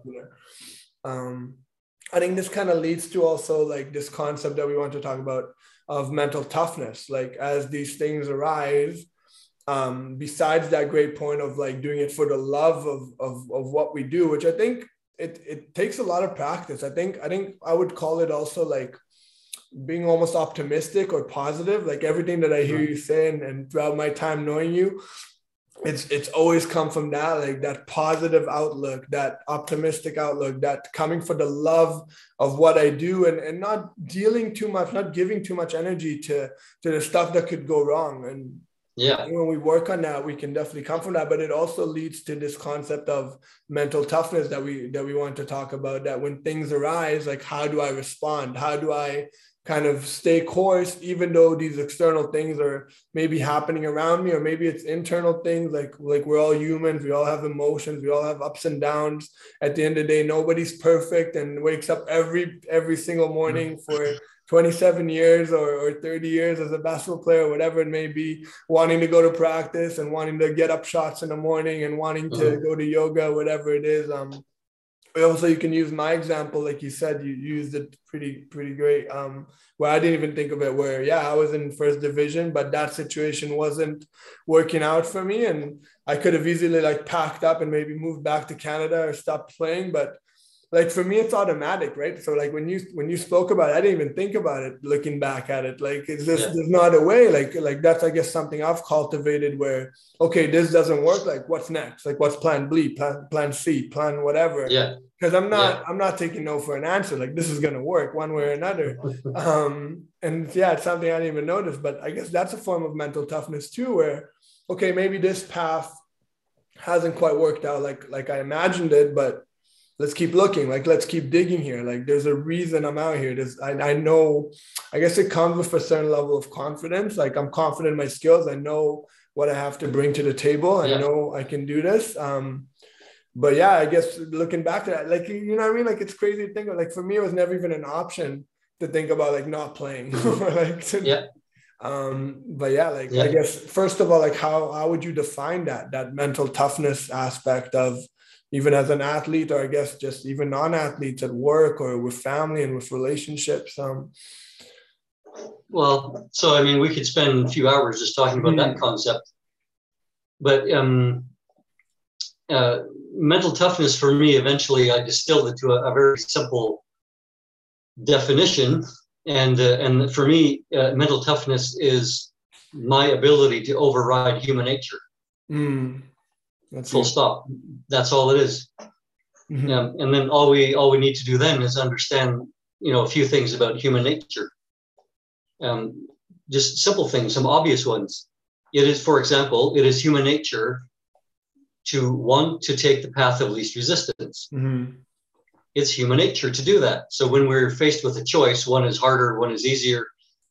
Um, I think this kind of leads to also like this concept that we want to talk about of mental toughness. Like as these things arise, um, besides that great point of like doing it for the love of, of, of what we do, which I think it, it takes a lot of practice. I think, I think I would call it also like being almost optimistic or positive. Like everything that I hear you say, and, and throughout my time knowing you, it's it's always come from that, like that positive outlook, that optimistic outlook, that coming for the love of what I do, and and not dealing too much, not giving too much energy to to the stuff that could go wrong. And yeah, when we work on that, we can definitely come from that. But it also leads to this concept of mental toughness that we that we want to talk about, that when things arise, like, how do I respond? How do I kind of stay course, even though these external things are maybe happening around me, or maybe it's internal things, like like we're all humans, we all have emotions, we all have ups and downs. At the end of the day, nobody's perfect and wakes up every every single morning for twenty-seven years or, or thirty years as a basketball player, whatever it may be, wanting to go to practice and wanting to get up shots in the morning and wanting to mm-hmm. go to yoga, whatever it is. Um, also, you can use my example, like you said, you used it pretty, pretty great. Um, where I didn't even think of it, where, yeah, I was in first division, but that situation wasn't working out for me. And I could have easily like packed up and maybe moved back to Canada or stopped playing. But like for me, it's automatic, right? So like when you when you spoke about it, I didn't even think about it looking back at it. Like, it's just, yeah. There's not a way. Like, like that's, I guess, something I've cultivated where, okay, this doesn't work. Like, what's next? Like, what's plan B, plan, plan C, plan whatever. Yeah. Because I'm not, yeah. I'm not taking no for an answer. Like, this is gonna work one way or another. Um, and yeah, it's something I didn't even notice. But I guess that's a form of mental toughness too, where, okay, maybe this path hasn't quite worked out like like I imagined it, but let's keep looking. Like, let's keep digging here. Like, there's a reason I'm out here. There's, I, I know, I guess it comes with a certain level of confidence. Like, I'm confident in my skills. I know what I have to bring to the table. Yeah. I know I can do this. Um, but yeah, I guess looking back to that, like, you know what I mean? Like, it's crazy to think of. Like, for me, it was never even an option to think about like not playing. like, to, yeah. Um, but yeah, like, yeah. I guess, first of all, like, how, how would you define that, that mental toughness aspect of, even as an athlete, or I guess just even non-athletes at work or with family and with relationships? Um, well, so, I mean, we could spend a few hours just talking about mm-hmm. that concept, but um, uh, mental toughness for me, eventually I distilled it to a, a very simple definition. And, uh, and for me, uh, mental toughness is my ability to override human nature. Mm. That's Full it. stop. That's all it is. Mm-hmm. Um, and then all we all we need to do then is understand, you know, a few things about human nature. Um, just simple things, some obvious ones. It is, for example, it is human nature to want to take the path of least resistance. Mm-hmm. It's human nature to do that. So when we're faced with a choice, one is harder, one is easier.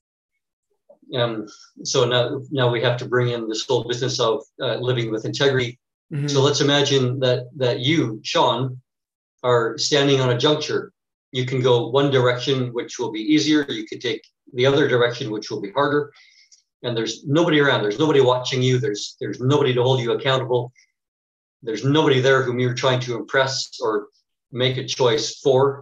Um, so now, now we have to bring in this whole business of uh, living with integrity. Mm-hmm. So let's imagine that that you, Sean, are standing on a juncture. You can go one direction, which will be easier. You could take the other direction, which will be harder. And there's nobody around. There's nobody watching you. There's there's nobody to hold you accountable. There's nobody there whom you're trying to impress or make a choice for.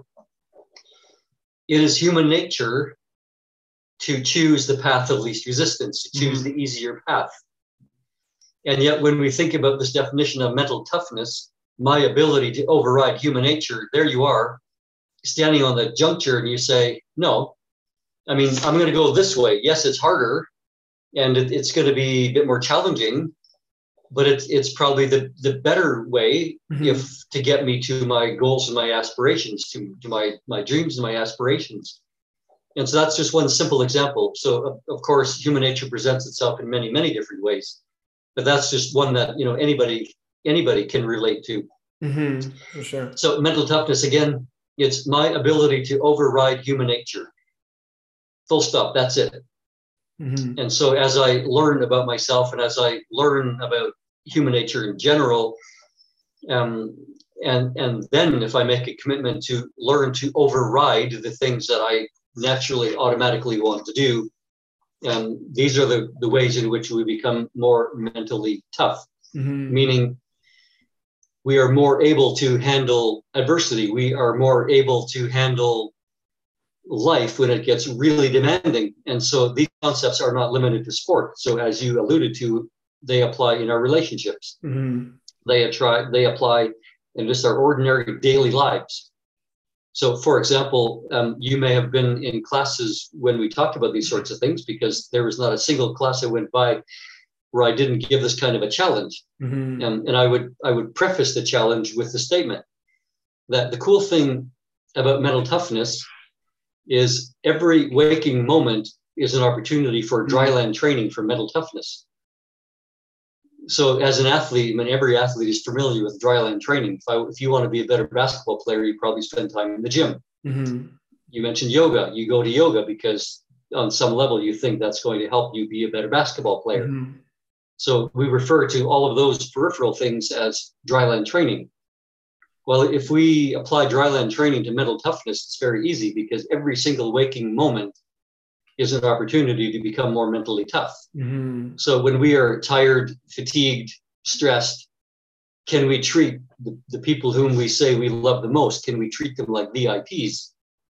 It is human nature to choose the path of least resistance, to choose mm-hmm. the easier path. And yet, when we think about this definition of mental toughness, my ability to override human nature, there you are, standing on the juncture, and you say, no, I mean, I'm going to go this way. Yes, it's harder, and it, it's going to be a bit more challenging, but it's it's probably the, the better way mm-hmm. if to get me to my goals and my aspirations, to, to my, my dreams and my aspirations. And so that's just one simple example. So, of, of course, human nature presents itself in many, many different ways. But that's just one that, you know, anybody anybody can relate to. Mm-hmm, for sure. So mental toughness, again, it's my ability to override human nature. Full stop. That's it. Mm-hmm. And so as I learn about myself and as I learn about human nature in general, um, and and then if I make a commitment to learn to override the things that I naturally automatically want to do, and these are the, the ways in which we become more mentally tough, mm-hmm. meaning we are more able to handle adversity. We are more able to handle life when it gets really demanding. And so these concepts are not limited to sport. So as you alluded to, they apply in our relationships. Mm-hmm. They, attry, they apply in just our ordinary daily lives. So, for example, um, you may have been in classes when we talked about these sorts of things, because there was not a single class that went by where I didn't give this kind of a challenge. Mm-hmm. And, and I would I would preface the challenge with the statement that the cool thing about mental toughness is every waking moment is an opportunity for dryland training for mental toughness. So as an athlete, I mean, every athlete is familiar with dryland training. If, I, if you want to be a better basketball player, you probably spend time in the gym. Mm-hmm. You mentioned yoga. You go to yoga because on some level you think that's going to help you be a better basketball player. Mm-hmm. So we refer to all of those peripheral things as dryland training. Well, if we apply dryland training to mental toughness, it's very easy because every single waking moment is an opportunity to become more mentally tough. Mm-hmm. So when we are tired, fatigued, stressed, can we treat the, the people whom we say we love the most, can we treat them like V I Ps?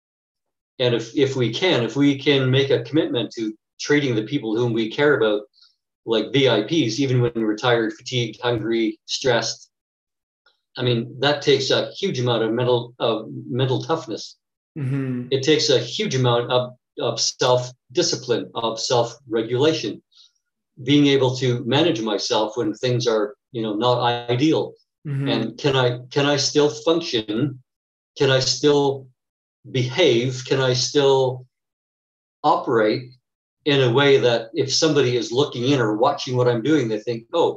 And if, if we can, if we can make a commitment to treating the people whom we care about like V I Ps, even when we're tired, fatigued, hungry, stressed, I mean, that takes a huge amount of mental of mental toughness. Mm-hmm. It takes a huge amount of, of self-discipline, of self-regulation, being able to manage myself when things are, you know, not ideal. Mm-hmm. And can I can I still function? Can I still behave? Can I still operate in a way that if somebody is looking in or watching what I'm doing, they think, oh,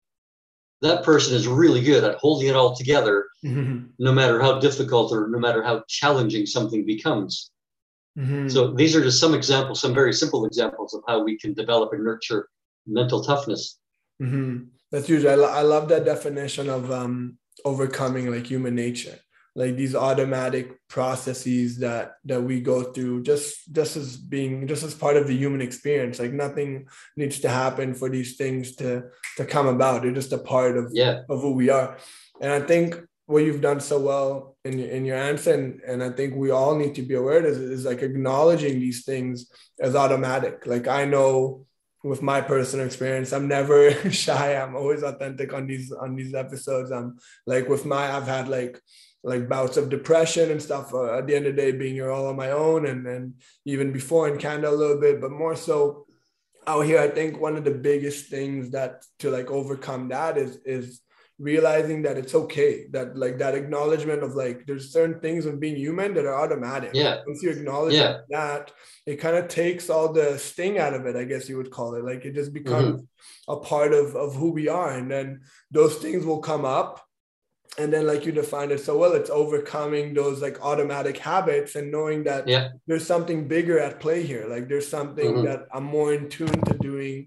that person is really good at holding it all together, Mm-hmm. no matter how difficult or no matter how challenging something becomes. Mm-hmm. So these are just some examples, some very simple examples of how we can develop and nurture mental toughness. Mm-hmm. That's huge. I, lo- I love that definition of um, overcoming like human nature, like these automatic processes that that we go through just just as being just as part of the human experience. Like nothing needs to happen for these things to to come about. They're just a part of, yeah. of who we are. And I think what you've done so well in your, in your answer, and, and I think we all need to be aware of is, is like acknowledging these things as automatic. Like I know with my personal experience, I'm never shy. I'm always authentic on these on these episodes. I'm like with my I've had like like bouts of depression and stuff uh, at the end of the day being you're all on my own, and and even before in Canada a little bit, but more so out here. I think one of the biggest things that to like overcome that is is realizing that it's okay, that like that acknowledgement of like there's certain things of being human that are automatic. Yeah. Once you acknowledge yeah. that, it kind of takes all the sting out of it, I guess you would call it. Like it just becomes mm-hmm. a part of of who we are, and then those things will come up. And then like you defined it so well, it's overcoming those like automatic habits and knowing that yeah. there's something bigger at play here. Like there's something mm-hmm. that I'm more in tune to doing,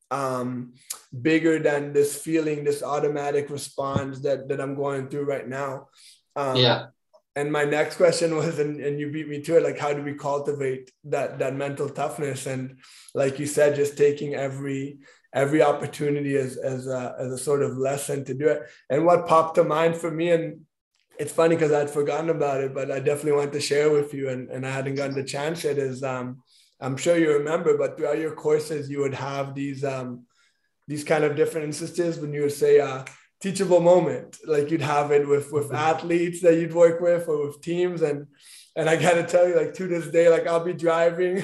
um, bigger than this feeling, this automatic response that, that I'm going through right now. Um, yeah. And my next question was, and, and you beat me to it, like, how do we cultivate that, that mental toughness? And like you said, just taking every, every opportunity as, as a, as a sort of lesson to do it. And what popped to mind for me, and it's funny because I'd forgotten about it, but I definitely want to share with you, and, and I hadn't gotten the chance yet, is um, I'm sure you remember, but throughout your courses, you would have these, um, these kind of different instances when you would say, uh, teachable moment, like you'd have it with with athletes that you'd work with or with teams, and and I gotta tell you, like to this day, like I'll be driving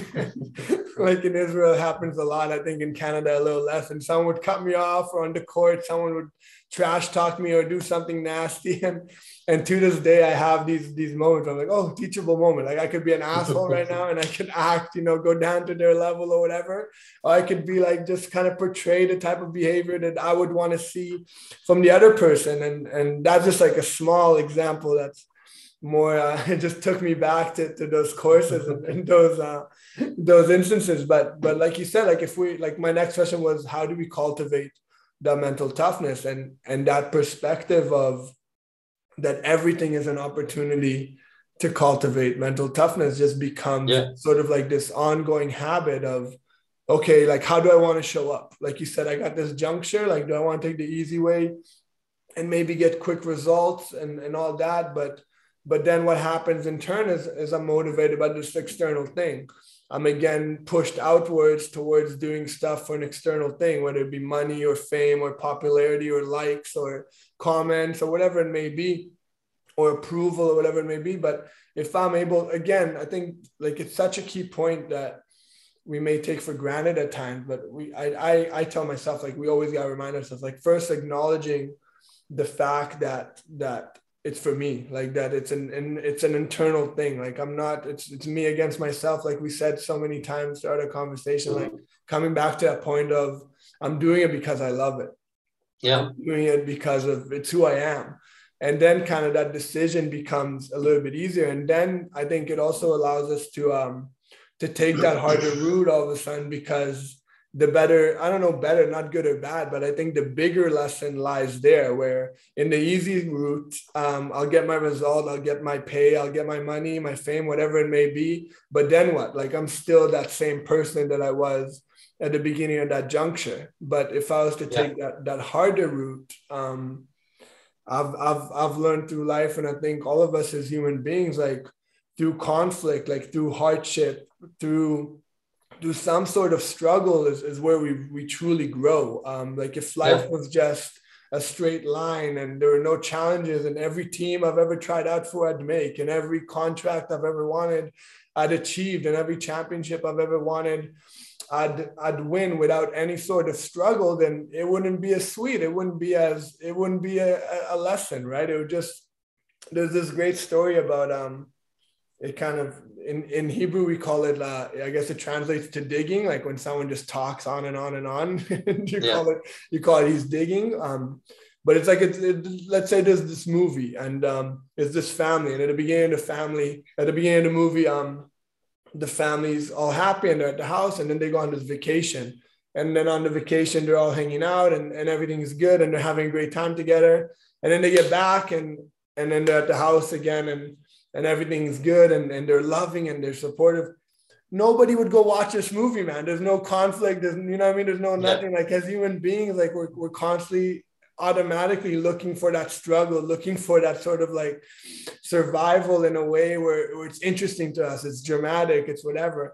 like in Israel it happens a lot, I think in Canada a little less, and someone would cut me off, or on the court someone would trash talk me or do something nasty, and and to this day I have these these moments where I'm like, oh, teachable moment, like I could be an asshole right now and I could act, you know, go down to their level or whatever, or I could be like just kind of portray the type of behavior that I would want to see from the other person, and and that's just like a small example that's more uh, it just took me back to, to those courses and, and those uh those instances. But but like you said, like if we like my next question was, how do we cultivate the mental toughness, and and that perspective of that everything is an opportunity to cultivate mental toughness just becomes yeah. sort of like this ongoing habit of, okay, like how do I want to show up? Like you said, I got this juncture, like do I want to take the easy way and maybe get quick results and, and all that? But but then what happens in turn is, is I'm motivated by this external thing. I'm again pushed outwards towards doing stuff for an external thing, whether it be money or fame or popularity or likes or comments or whatever it may be, or approval or whatever it may be. But if I'm able, again, I think like it's such a key point that we may take for granted at times, but we, I, I, I tell myself, like, we always got to remind ourselves, like, first acknowledging the fact that, that it's for me, like that it's an, and it's an internal thing. Like I'm not, it's, it's me against myself. Like we said so many times throughout our conversation, like coming back to that point of I'm doing it because I love it. Yeah. I'm doing it because of it's who I am. And then kind of that decision becomes a little bit easier. And then I think it also allows us to, um, to take that harder route all of a sudden, because the better, I don't know, better, not good or bad, but I think the bigger lesson lies there, where in the easy route, um, I'll get my result, I'll get my pay, I'll get my money, my fame, whatever it may be. But then what? Like I'm still that same person that I was at the beginning of that juncture. But if I was to take yeah. that, that harder route, um, I've, I've, I've learned through life, and I think all of us as human beings, like through conflict, like through hardship, through do some sort of struggle is, is where we we truly grow. Um, like if life yeah. was just a straight line and there were no challenges, and every team I've ever tried out for I'd make, and every contract I've ever wanted I'd achieved, and every championship I've ever wanted I'd I'd win without any sort of struggle, then it wouldn't be as sweet. It wouldn't be as it wouldn't be a, a lesson, right? It would just, there's this great story about um it kind of in, in Hebrew, we call it, uh, I guess it translates to digging, like when someone just talks on and on and on, and you yeah. call it, you call it, he's digging. Um, but it's like, it's, it, let's say there's this movie, and um, it's this family, and at the beginning of the family, at the beginning of the movie, um, the family's all happy and they're at the house, and then they go on this vacation. And then on the vacation, they're all hanging out, and, and everything's good, and they're having a great time together. And then they get back, and, and then they're at the house again, and and everything's good, and, and they're loving and they're supportive. Nobody would go watch this movie, man. There's no conflict. There's, you know what I mean? There's no nothing. Yeah. Like as human beings, like we're, we're constantly automatically looking for that struggle, looking for that sort of like survival in a way where, where it's interesting to us. It's dramatic. It's whatever.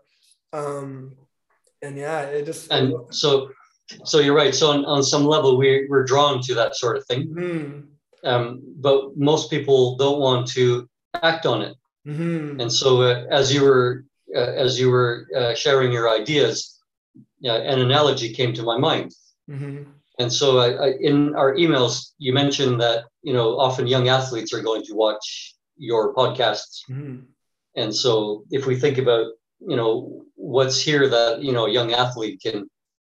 Um, and yeah, it just. And so, so you're right. So on, on some level, we're, we're drawn to that sort of thing. Mm-hmm. Um, but most people don't want to act on it. Mm-hmm. And so uh, as you were uh, as you were uh, sharing your ideas, uh, an analogy came to my mind. Mm-hmm. And so I, I, in our emails, you mentioned that, you know, often young athletes are going to watch your podcasts. Mm-hmm. And so if we think about, you know, what's here that, you know, a young athlete can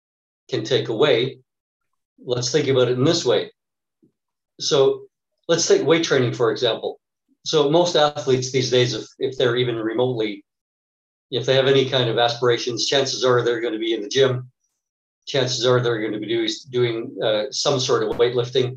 can take away, let's think about it in this way. So let's take weight training, for example. So most athletes these days, if, if they're even remotely, if they have any kind of aspirations, chances are they're going to be in the gym. Chances are they're going to be do, doing uh, some sort of weightlifting.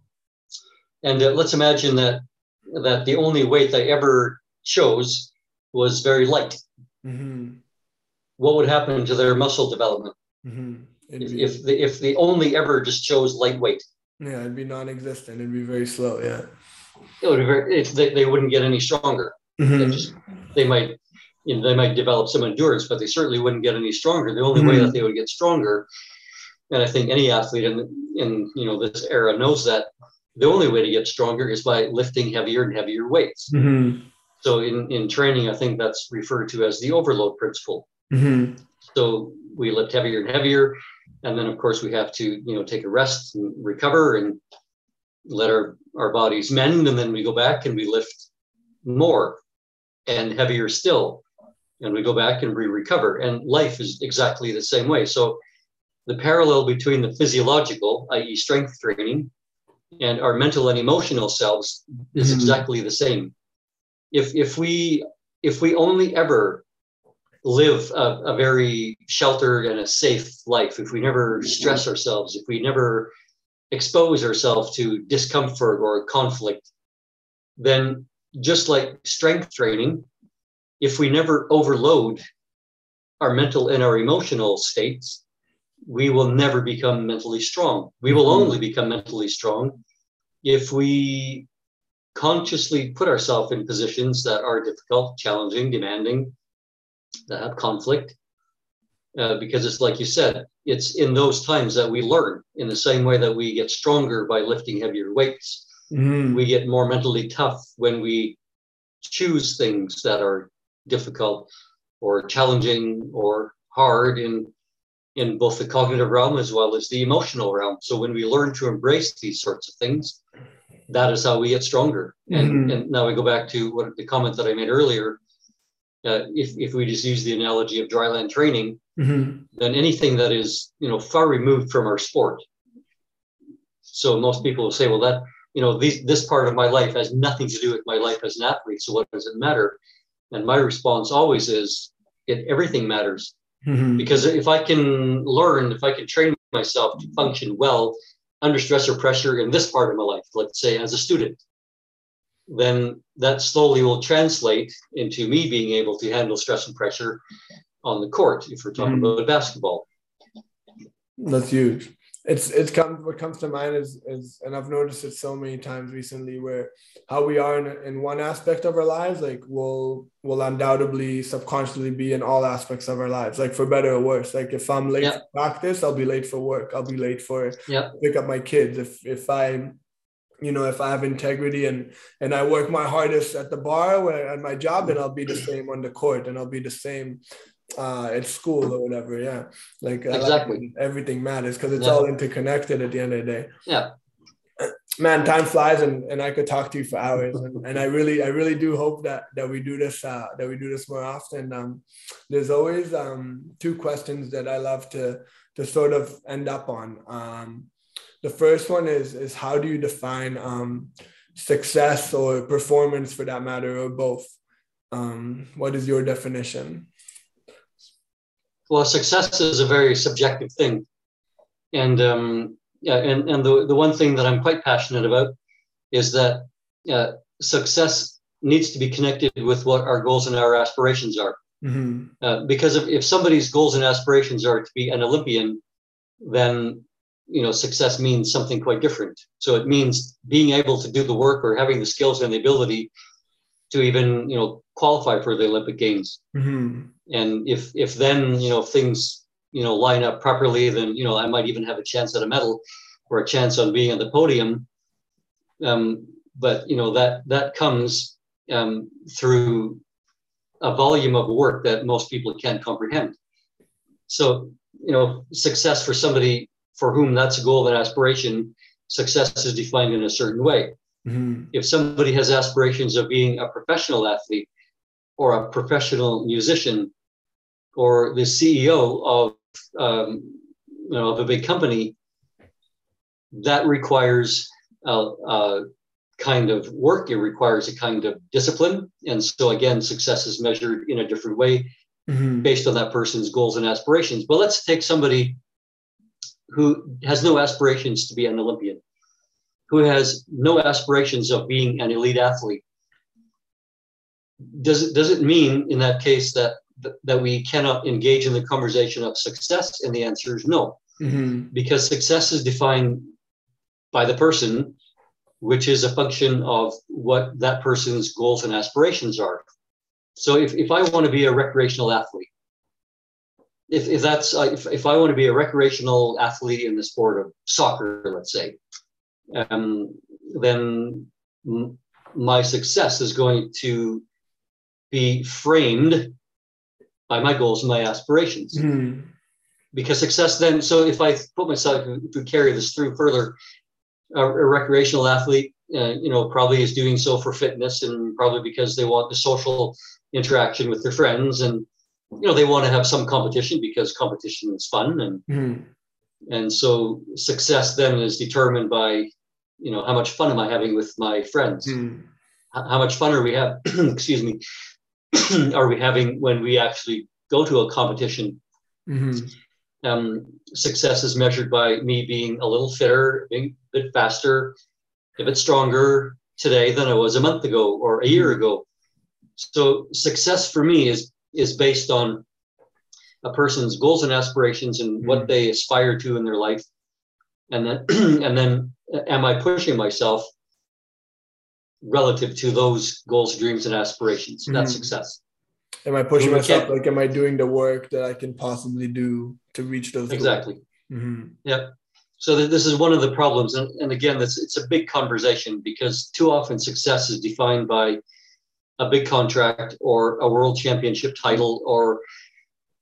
And uh, let's imagine that that the only weight they ever chose was very light. Mm-hmm. What would happen to their muscle development mm-hmm. if, be, if, the, if they only ever just chose lightweight? Yeah, it'd be non-existent. It'd be very slow, yeah. It would be very, if they, they wouldn't get any stronger. Mm-hmm. They just they might you know they might develop some endurance, but they certainly wouldn't get any stronger. The only mm-hmm. way that they would get stronger, and I think any athlete in in you know this era knows that the only way to get stronger is by lifting heavier and heavier weights. Mm-hmm. So in, in training, I think that's referred to as the overload principle. Mm-hmm. So we lift heavier and heavier, and then of course we have to you know take a rest and recover and let our, our bodies mend, and then we go back and we lift more and heavier still, and we go back and we recover. And life is exactly the same way. So the parallel between the physiological, that is strength training, and our mental and emotional selves is mm-hmm. exactly the same. If if we if we only ever live a, a very sheltered and a safe life, if we never stress ourselves, if we never expose ourselves to discomfort or conflict, then just like strength training, if we never overload our mental and our emotional states, we will never become mentally strong. We will only become mentally strong if we consciously put ourselves in positions that are difficult, challenging, demanding, that have conflict. Uh, because it's like you said, it's in those times that we learn. In the same way that we get stronger by lifting heavier weights, mm-hmm. we get more mentally tough when we choose things that are difficult or challenging or hard in in both the cognitive realm as well as the emotional realm. So when we learn to embrace these sorts of things, that is how we get stronger. And, mm-hmm. and now we go back to what the comment that I made earlier. Uh, if, if we just use the analogy of dryland training, mm-hmm. then anything that is, you know, far removed from our sport. So most people will say, well, that, you know, these, this part of my life has nothing to do with my life as an athlete. So what does it matter? And my response always is, it, everything matters. Mm-hmm. Because if I can learn, if I can train myself to function well under stress or pressure in this part of my life, let's say as a student, then that slowly will translate into me being able to handle stress and pressure on the court, if we're talking mm-hmm. about basketball. That's huge. It's it's come what comes to mind is is and I've noticed it so many times recently where how we are in, in one aspect of our lives, like will will undoubtedly subconsciously be in all aspects of our lives, like for better or worse. Like if I'm late yeah. for practice, I'll be late for work. I'll be late for yeah. pick up my kids. If if I you know, if I have integrity and and I work my hardest at the bar where at my job, then I'll be the same on the court and I'll be the same uh at school or whatever. Yeah, like exactly like everything matters because it's yeah. all interconnected at the end of the day. Yeah, man, time flies and, and I could talk to you for hours, and, and I really I really do hope that that we do this uh that we do this more often. Um there's always um two questions that I love to to sort of end up on. Um the first one is is how do you define um success or performance, for that matter, or both? Um what is your definition? Well, success is a very subjective thing. And um, yeah, and, and the, the one thing that I'm quite passionate about is that uh, success needs to be connected with what our goals and our aspirations are. Mm-hmm. Uh, because if, if somebody's goals and aspirations are to be an Olympian, then, you know, success means something quite different. So it means being able to do the work or having the skills and the ability to even, you know, qualify for the Olympic Games. Mm-hmm. And if if then, you know, things, you know, line up properly, then, you know, I might even have a chance at a medal or a chance on being on the podium. Um, but, you know, that that comes um, through a volume of work that most people can't comprehend. So, you know, success for somebody for whom that's a goal and aspiration, success is defined in a certain way. Mm-hmm. If somebody has aspirations of being a professional athlete or a professional musician or the C E O of, um, you know, of a big company, that requires a, a kind of work. It requires a kind of discipline. And so again, success is measured in a different way mm-hmm. based on that person's goals and aspirations. But let's take somebody who has no aspirations to be an Olympian, who has no aspirations of being an elite athlete. Does it, does it mean in that case that, that we cannot engage in the conversation of success? And the answer is no, mm-hmm. because success is defined by the person, which is a function of what that person's goals and aspirations are. So if, if I want to be a recreational athlete, if, if that's, if, if I want to be a recreational athlete in the sport of soccer, let's say, um, then m- my success is going to be framed by my goals and my aspirations. Mm-hmm. Because success then, so if I put myself, if we carry this through further, a, a recreational athlete, uh, you know, probably is doing so for fitness and probably because they want the social interaction with their friends, and, you know, they want to have some competition because competition is fun. And, mm-hmm. and so success then is determined by, you know, how much fun am I having with my friends? Mm-hmm. H- how much fun are we having, excuse me, are we having when we actually go to a competition? Mm-hmm. Um, success is measured by me being a little fitter, being a bit faster, a bit stronger today than I was a month ago or a year ago. So success for me is is based on a person's goals and aspirations and mm-hmm. what they aspire to in their life. And then, and then am I pushing myself relative to those goals, dreams, and aspirations? Mm-hmm. That's success. Am I pushing myself? Like, am I doing the work that I can possibly do to reach those exactly. goals? Mm-hmm. Yeah. So th- this is one of the problems. And, and again, this, it's a big conversation because too often success is defined by a big contract or a world championship title or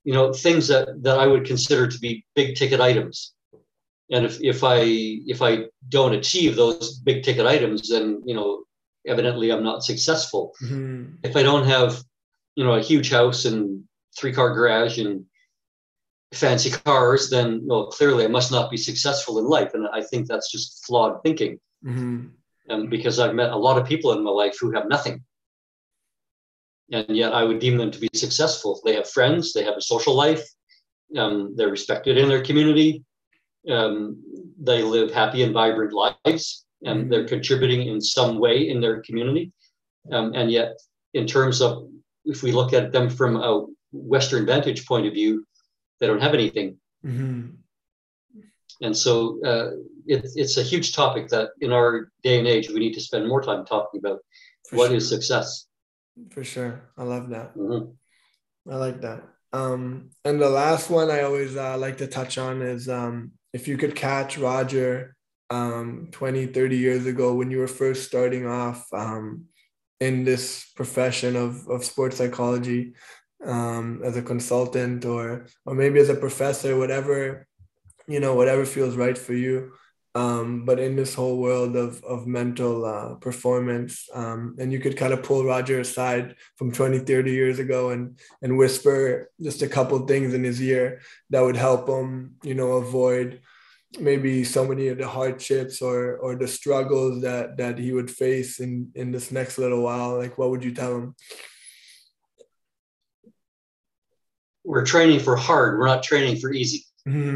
you know, things that, that I would consider to be big ticket items. And if, if I if I don't achieve those big ticket items, then, you know, evidently I'm not successful. Mm-hmm. If I don't have, you know, a huge house and three car garage and fancy cars, then, well, clearly I must not be successful in life. And I think that's just flawed thinking. Mm-hmm. Um, because I've met a lot of people in my life who have nothing. And yet I would deem them to be successful. They have friends, they have a social life, um, they're respected in their community, um, they live happy and vibrant lives, and mm-hmm. they're contributing in some way in their community. Um, and yet, in terms of, if we look at them from a Western vantage point of view, they don't have anything. Mm-hmm. And so uh, it, it's a huge topic that in our day and age, we need to spend more time talking about. For what sure. is success. For sure. I love that. Mm-hmm. I like that. Um, and the last one I always uh, like to touch on is um, if you could catch Roger um, twenty, thirty years ago when you were first starting off um, in this profession of, of sports psychology um, as a consultant or or maybe as a professor, whatever, you know, whatever feels right for you. Um, but in this whole world of, of mental uh, performance, um, and you could kind of pull Roger aside from twenty, thirty years ago and, and whisper just a couple of things in his ear that would help him, you know, avoid maybe so many of the hardships or, or the struggles that, that he would face in, in this next little while. Like, what would you tell him? We're training for hard. We're not training for easy.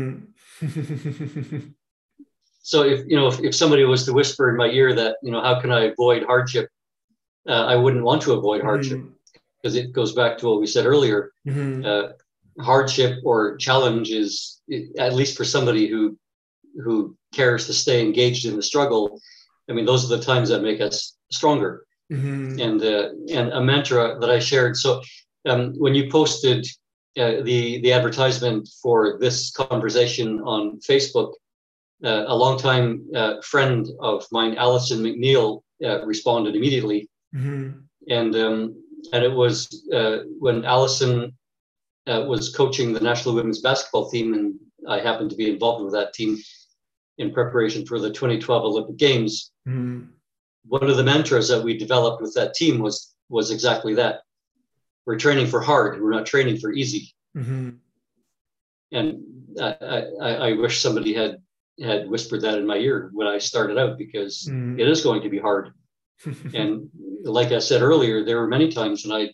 Mm-hmm. So if, you know, if, if somebody was to whisper in my ear that, you know, how can I avoid hardship? Uh, I wouldn't want to avoid hardship mm-hmm. because it goes back to what we said earlier. Mm-hmm. Uh, hardship or challenge is, at least for somebody who, who cares to stay engaged in the struggle. I mean, those are the times that make us stronger. Mm-hmm. And, uh, and a mantra that I shared. So um, when you posted uh, the, the advertisement for this conversation on Facebook, Uh, a longtime uh, friend of mine, Alison McNeil, uh, responded immediately, mm-hmm. and um, and it was uh, when Alison uh, was coaching the national women's basketball team, and I happened to be involved with that team in preparation for the twenty twelve Olympic Games. Mm-hmm. One of the mantras that we developed with that team was was exactly that: we're training for hard, we're not training for easy. Mm-hmm. And I, I, I wish somebody had. had whispered that in my ear when I started out, because mm. it is going to be hard. And like I said earlier, there were many times when I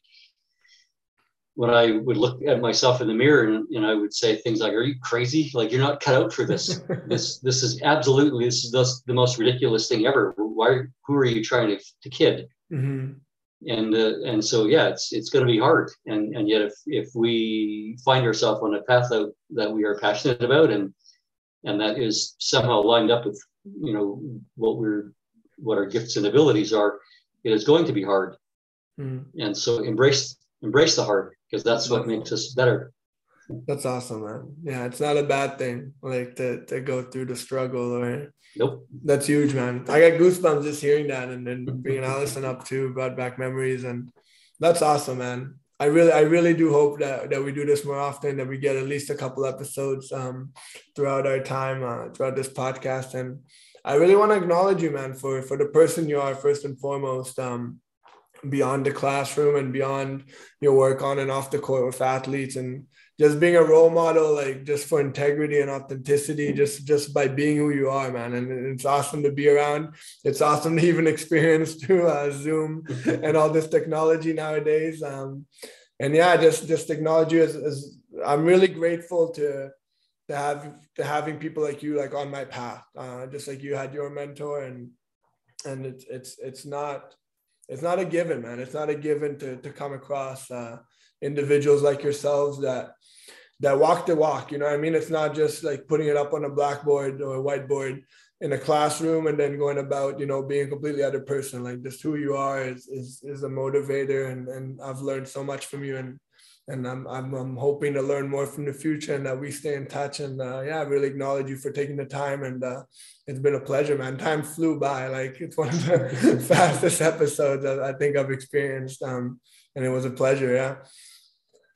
when I would look at myself in the mirror and, and I would say things like, are you crazy? Like, you're not cut out for this. this this is absolutely, this is the, the most ridiculous thing ever. Why, who are you trying to, to kid? Mm-hmm. And uh, and so, yeah, it's it's going to be hard. And and yet if, if we find ourselves on a path that, that we are passionate about and and that is somehow lined up with, you know, what we're, what our gifts and abilities are, it is going to be hard. Mm. And so embrace, embrace the hard, because that's what makes us better. That's awesome, man. Yeah, it's not a bad thing, like to, to go through the struggle. Or nope. That's huge, man. I got goosebumps just hearing that, and then bringing Alison up too, brought back memories, and that's awesome, man. I really, I really do hope that, that we do this more often, that we get at least a couple episodes um, throughout our time, uh, throughout this podcast. And I really want to acknowledge you, man, for, for the person you are, first and foremost, um, beyond the classroom and beyond your work on and off the court with athletes, and just being a role model, like just for integrity and authenticity, just, just by being who you are, man. And it's awesome to be around. It's awesome to even experience through uh, Zoom and all this technology nowadays. Um, and yeah, just, just acknowledge you as, as I'm really grateful to, to have, to having people like you, like on my path, uh, just like you had your mentor, and, and it's, it's, it's not, it's not a given, man. It's not a given to, to come across uh, individuals like yourselves that, that walk the walk, you know what I mean? It's not just like putting it up on a blackboard or a whiteboard in a classroom and then going about, you know, being a completely other person. Like, just who you are is is, is a motivator, and, and I've learned so much from you, and and I'm, I'm I'm hoping to learn more from the future, and that we stay in touch. And uh, yeah, I really acknowledge you for taking the time, and uh, it's been a pleasure, man. Time flew by. Like, it's one of the fastest episodes I, I think I've experienced, um, and it was a pleasure. Yeah.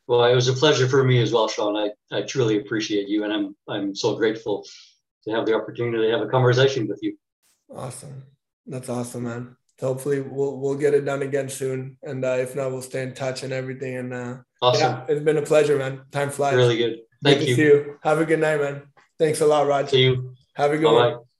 Well, it was a pleasure for me as well, Sean. I, I truly appreciate you, and I'm I'm so grateful to have the opportunity to have a conversation with you. Awesome. That's awesome, man. So hopefully we'll we'll get it done again soon. And uh, if not, we'll stay in touch and everything. And uh, awesome. Yeah, it's been a pleasure, man. Time flies. Really good. Thank good you. To see you. Have a good night, man. Thanks a lot, Raj. See you. Have a good Bye-bye. one.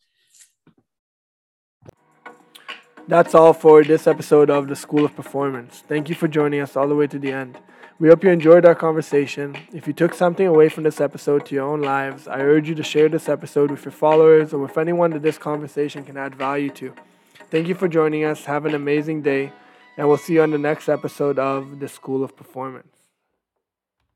That's all for this episode of the School of Performance. Thank you for joining us all the way to the end. We hope you enjoyed our conversation. If you took something away from this episode to your own lives, I urge you to share this episode with your followers or with anyone that this conversation can add value to. Thank you for joining us. Have an amazing day, and we'll see you on the next episode of the School of Performance.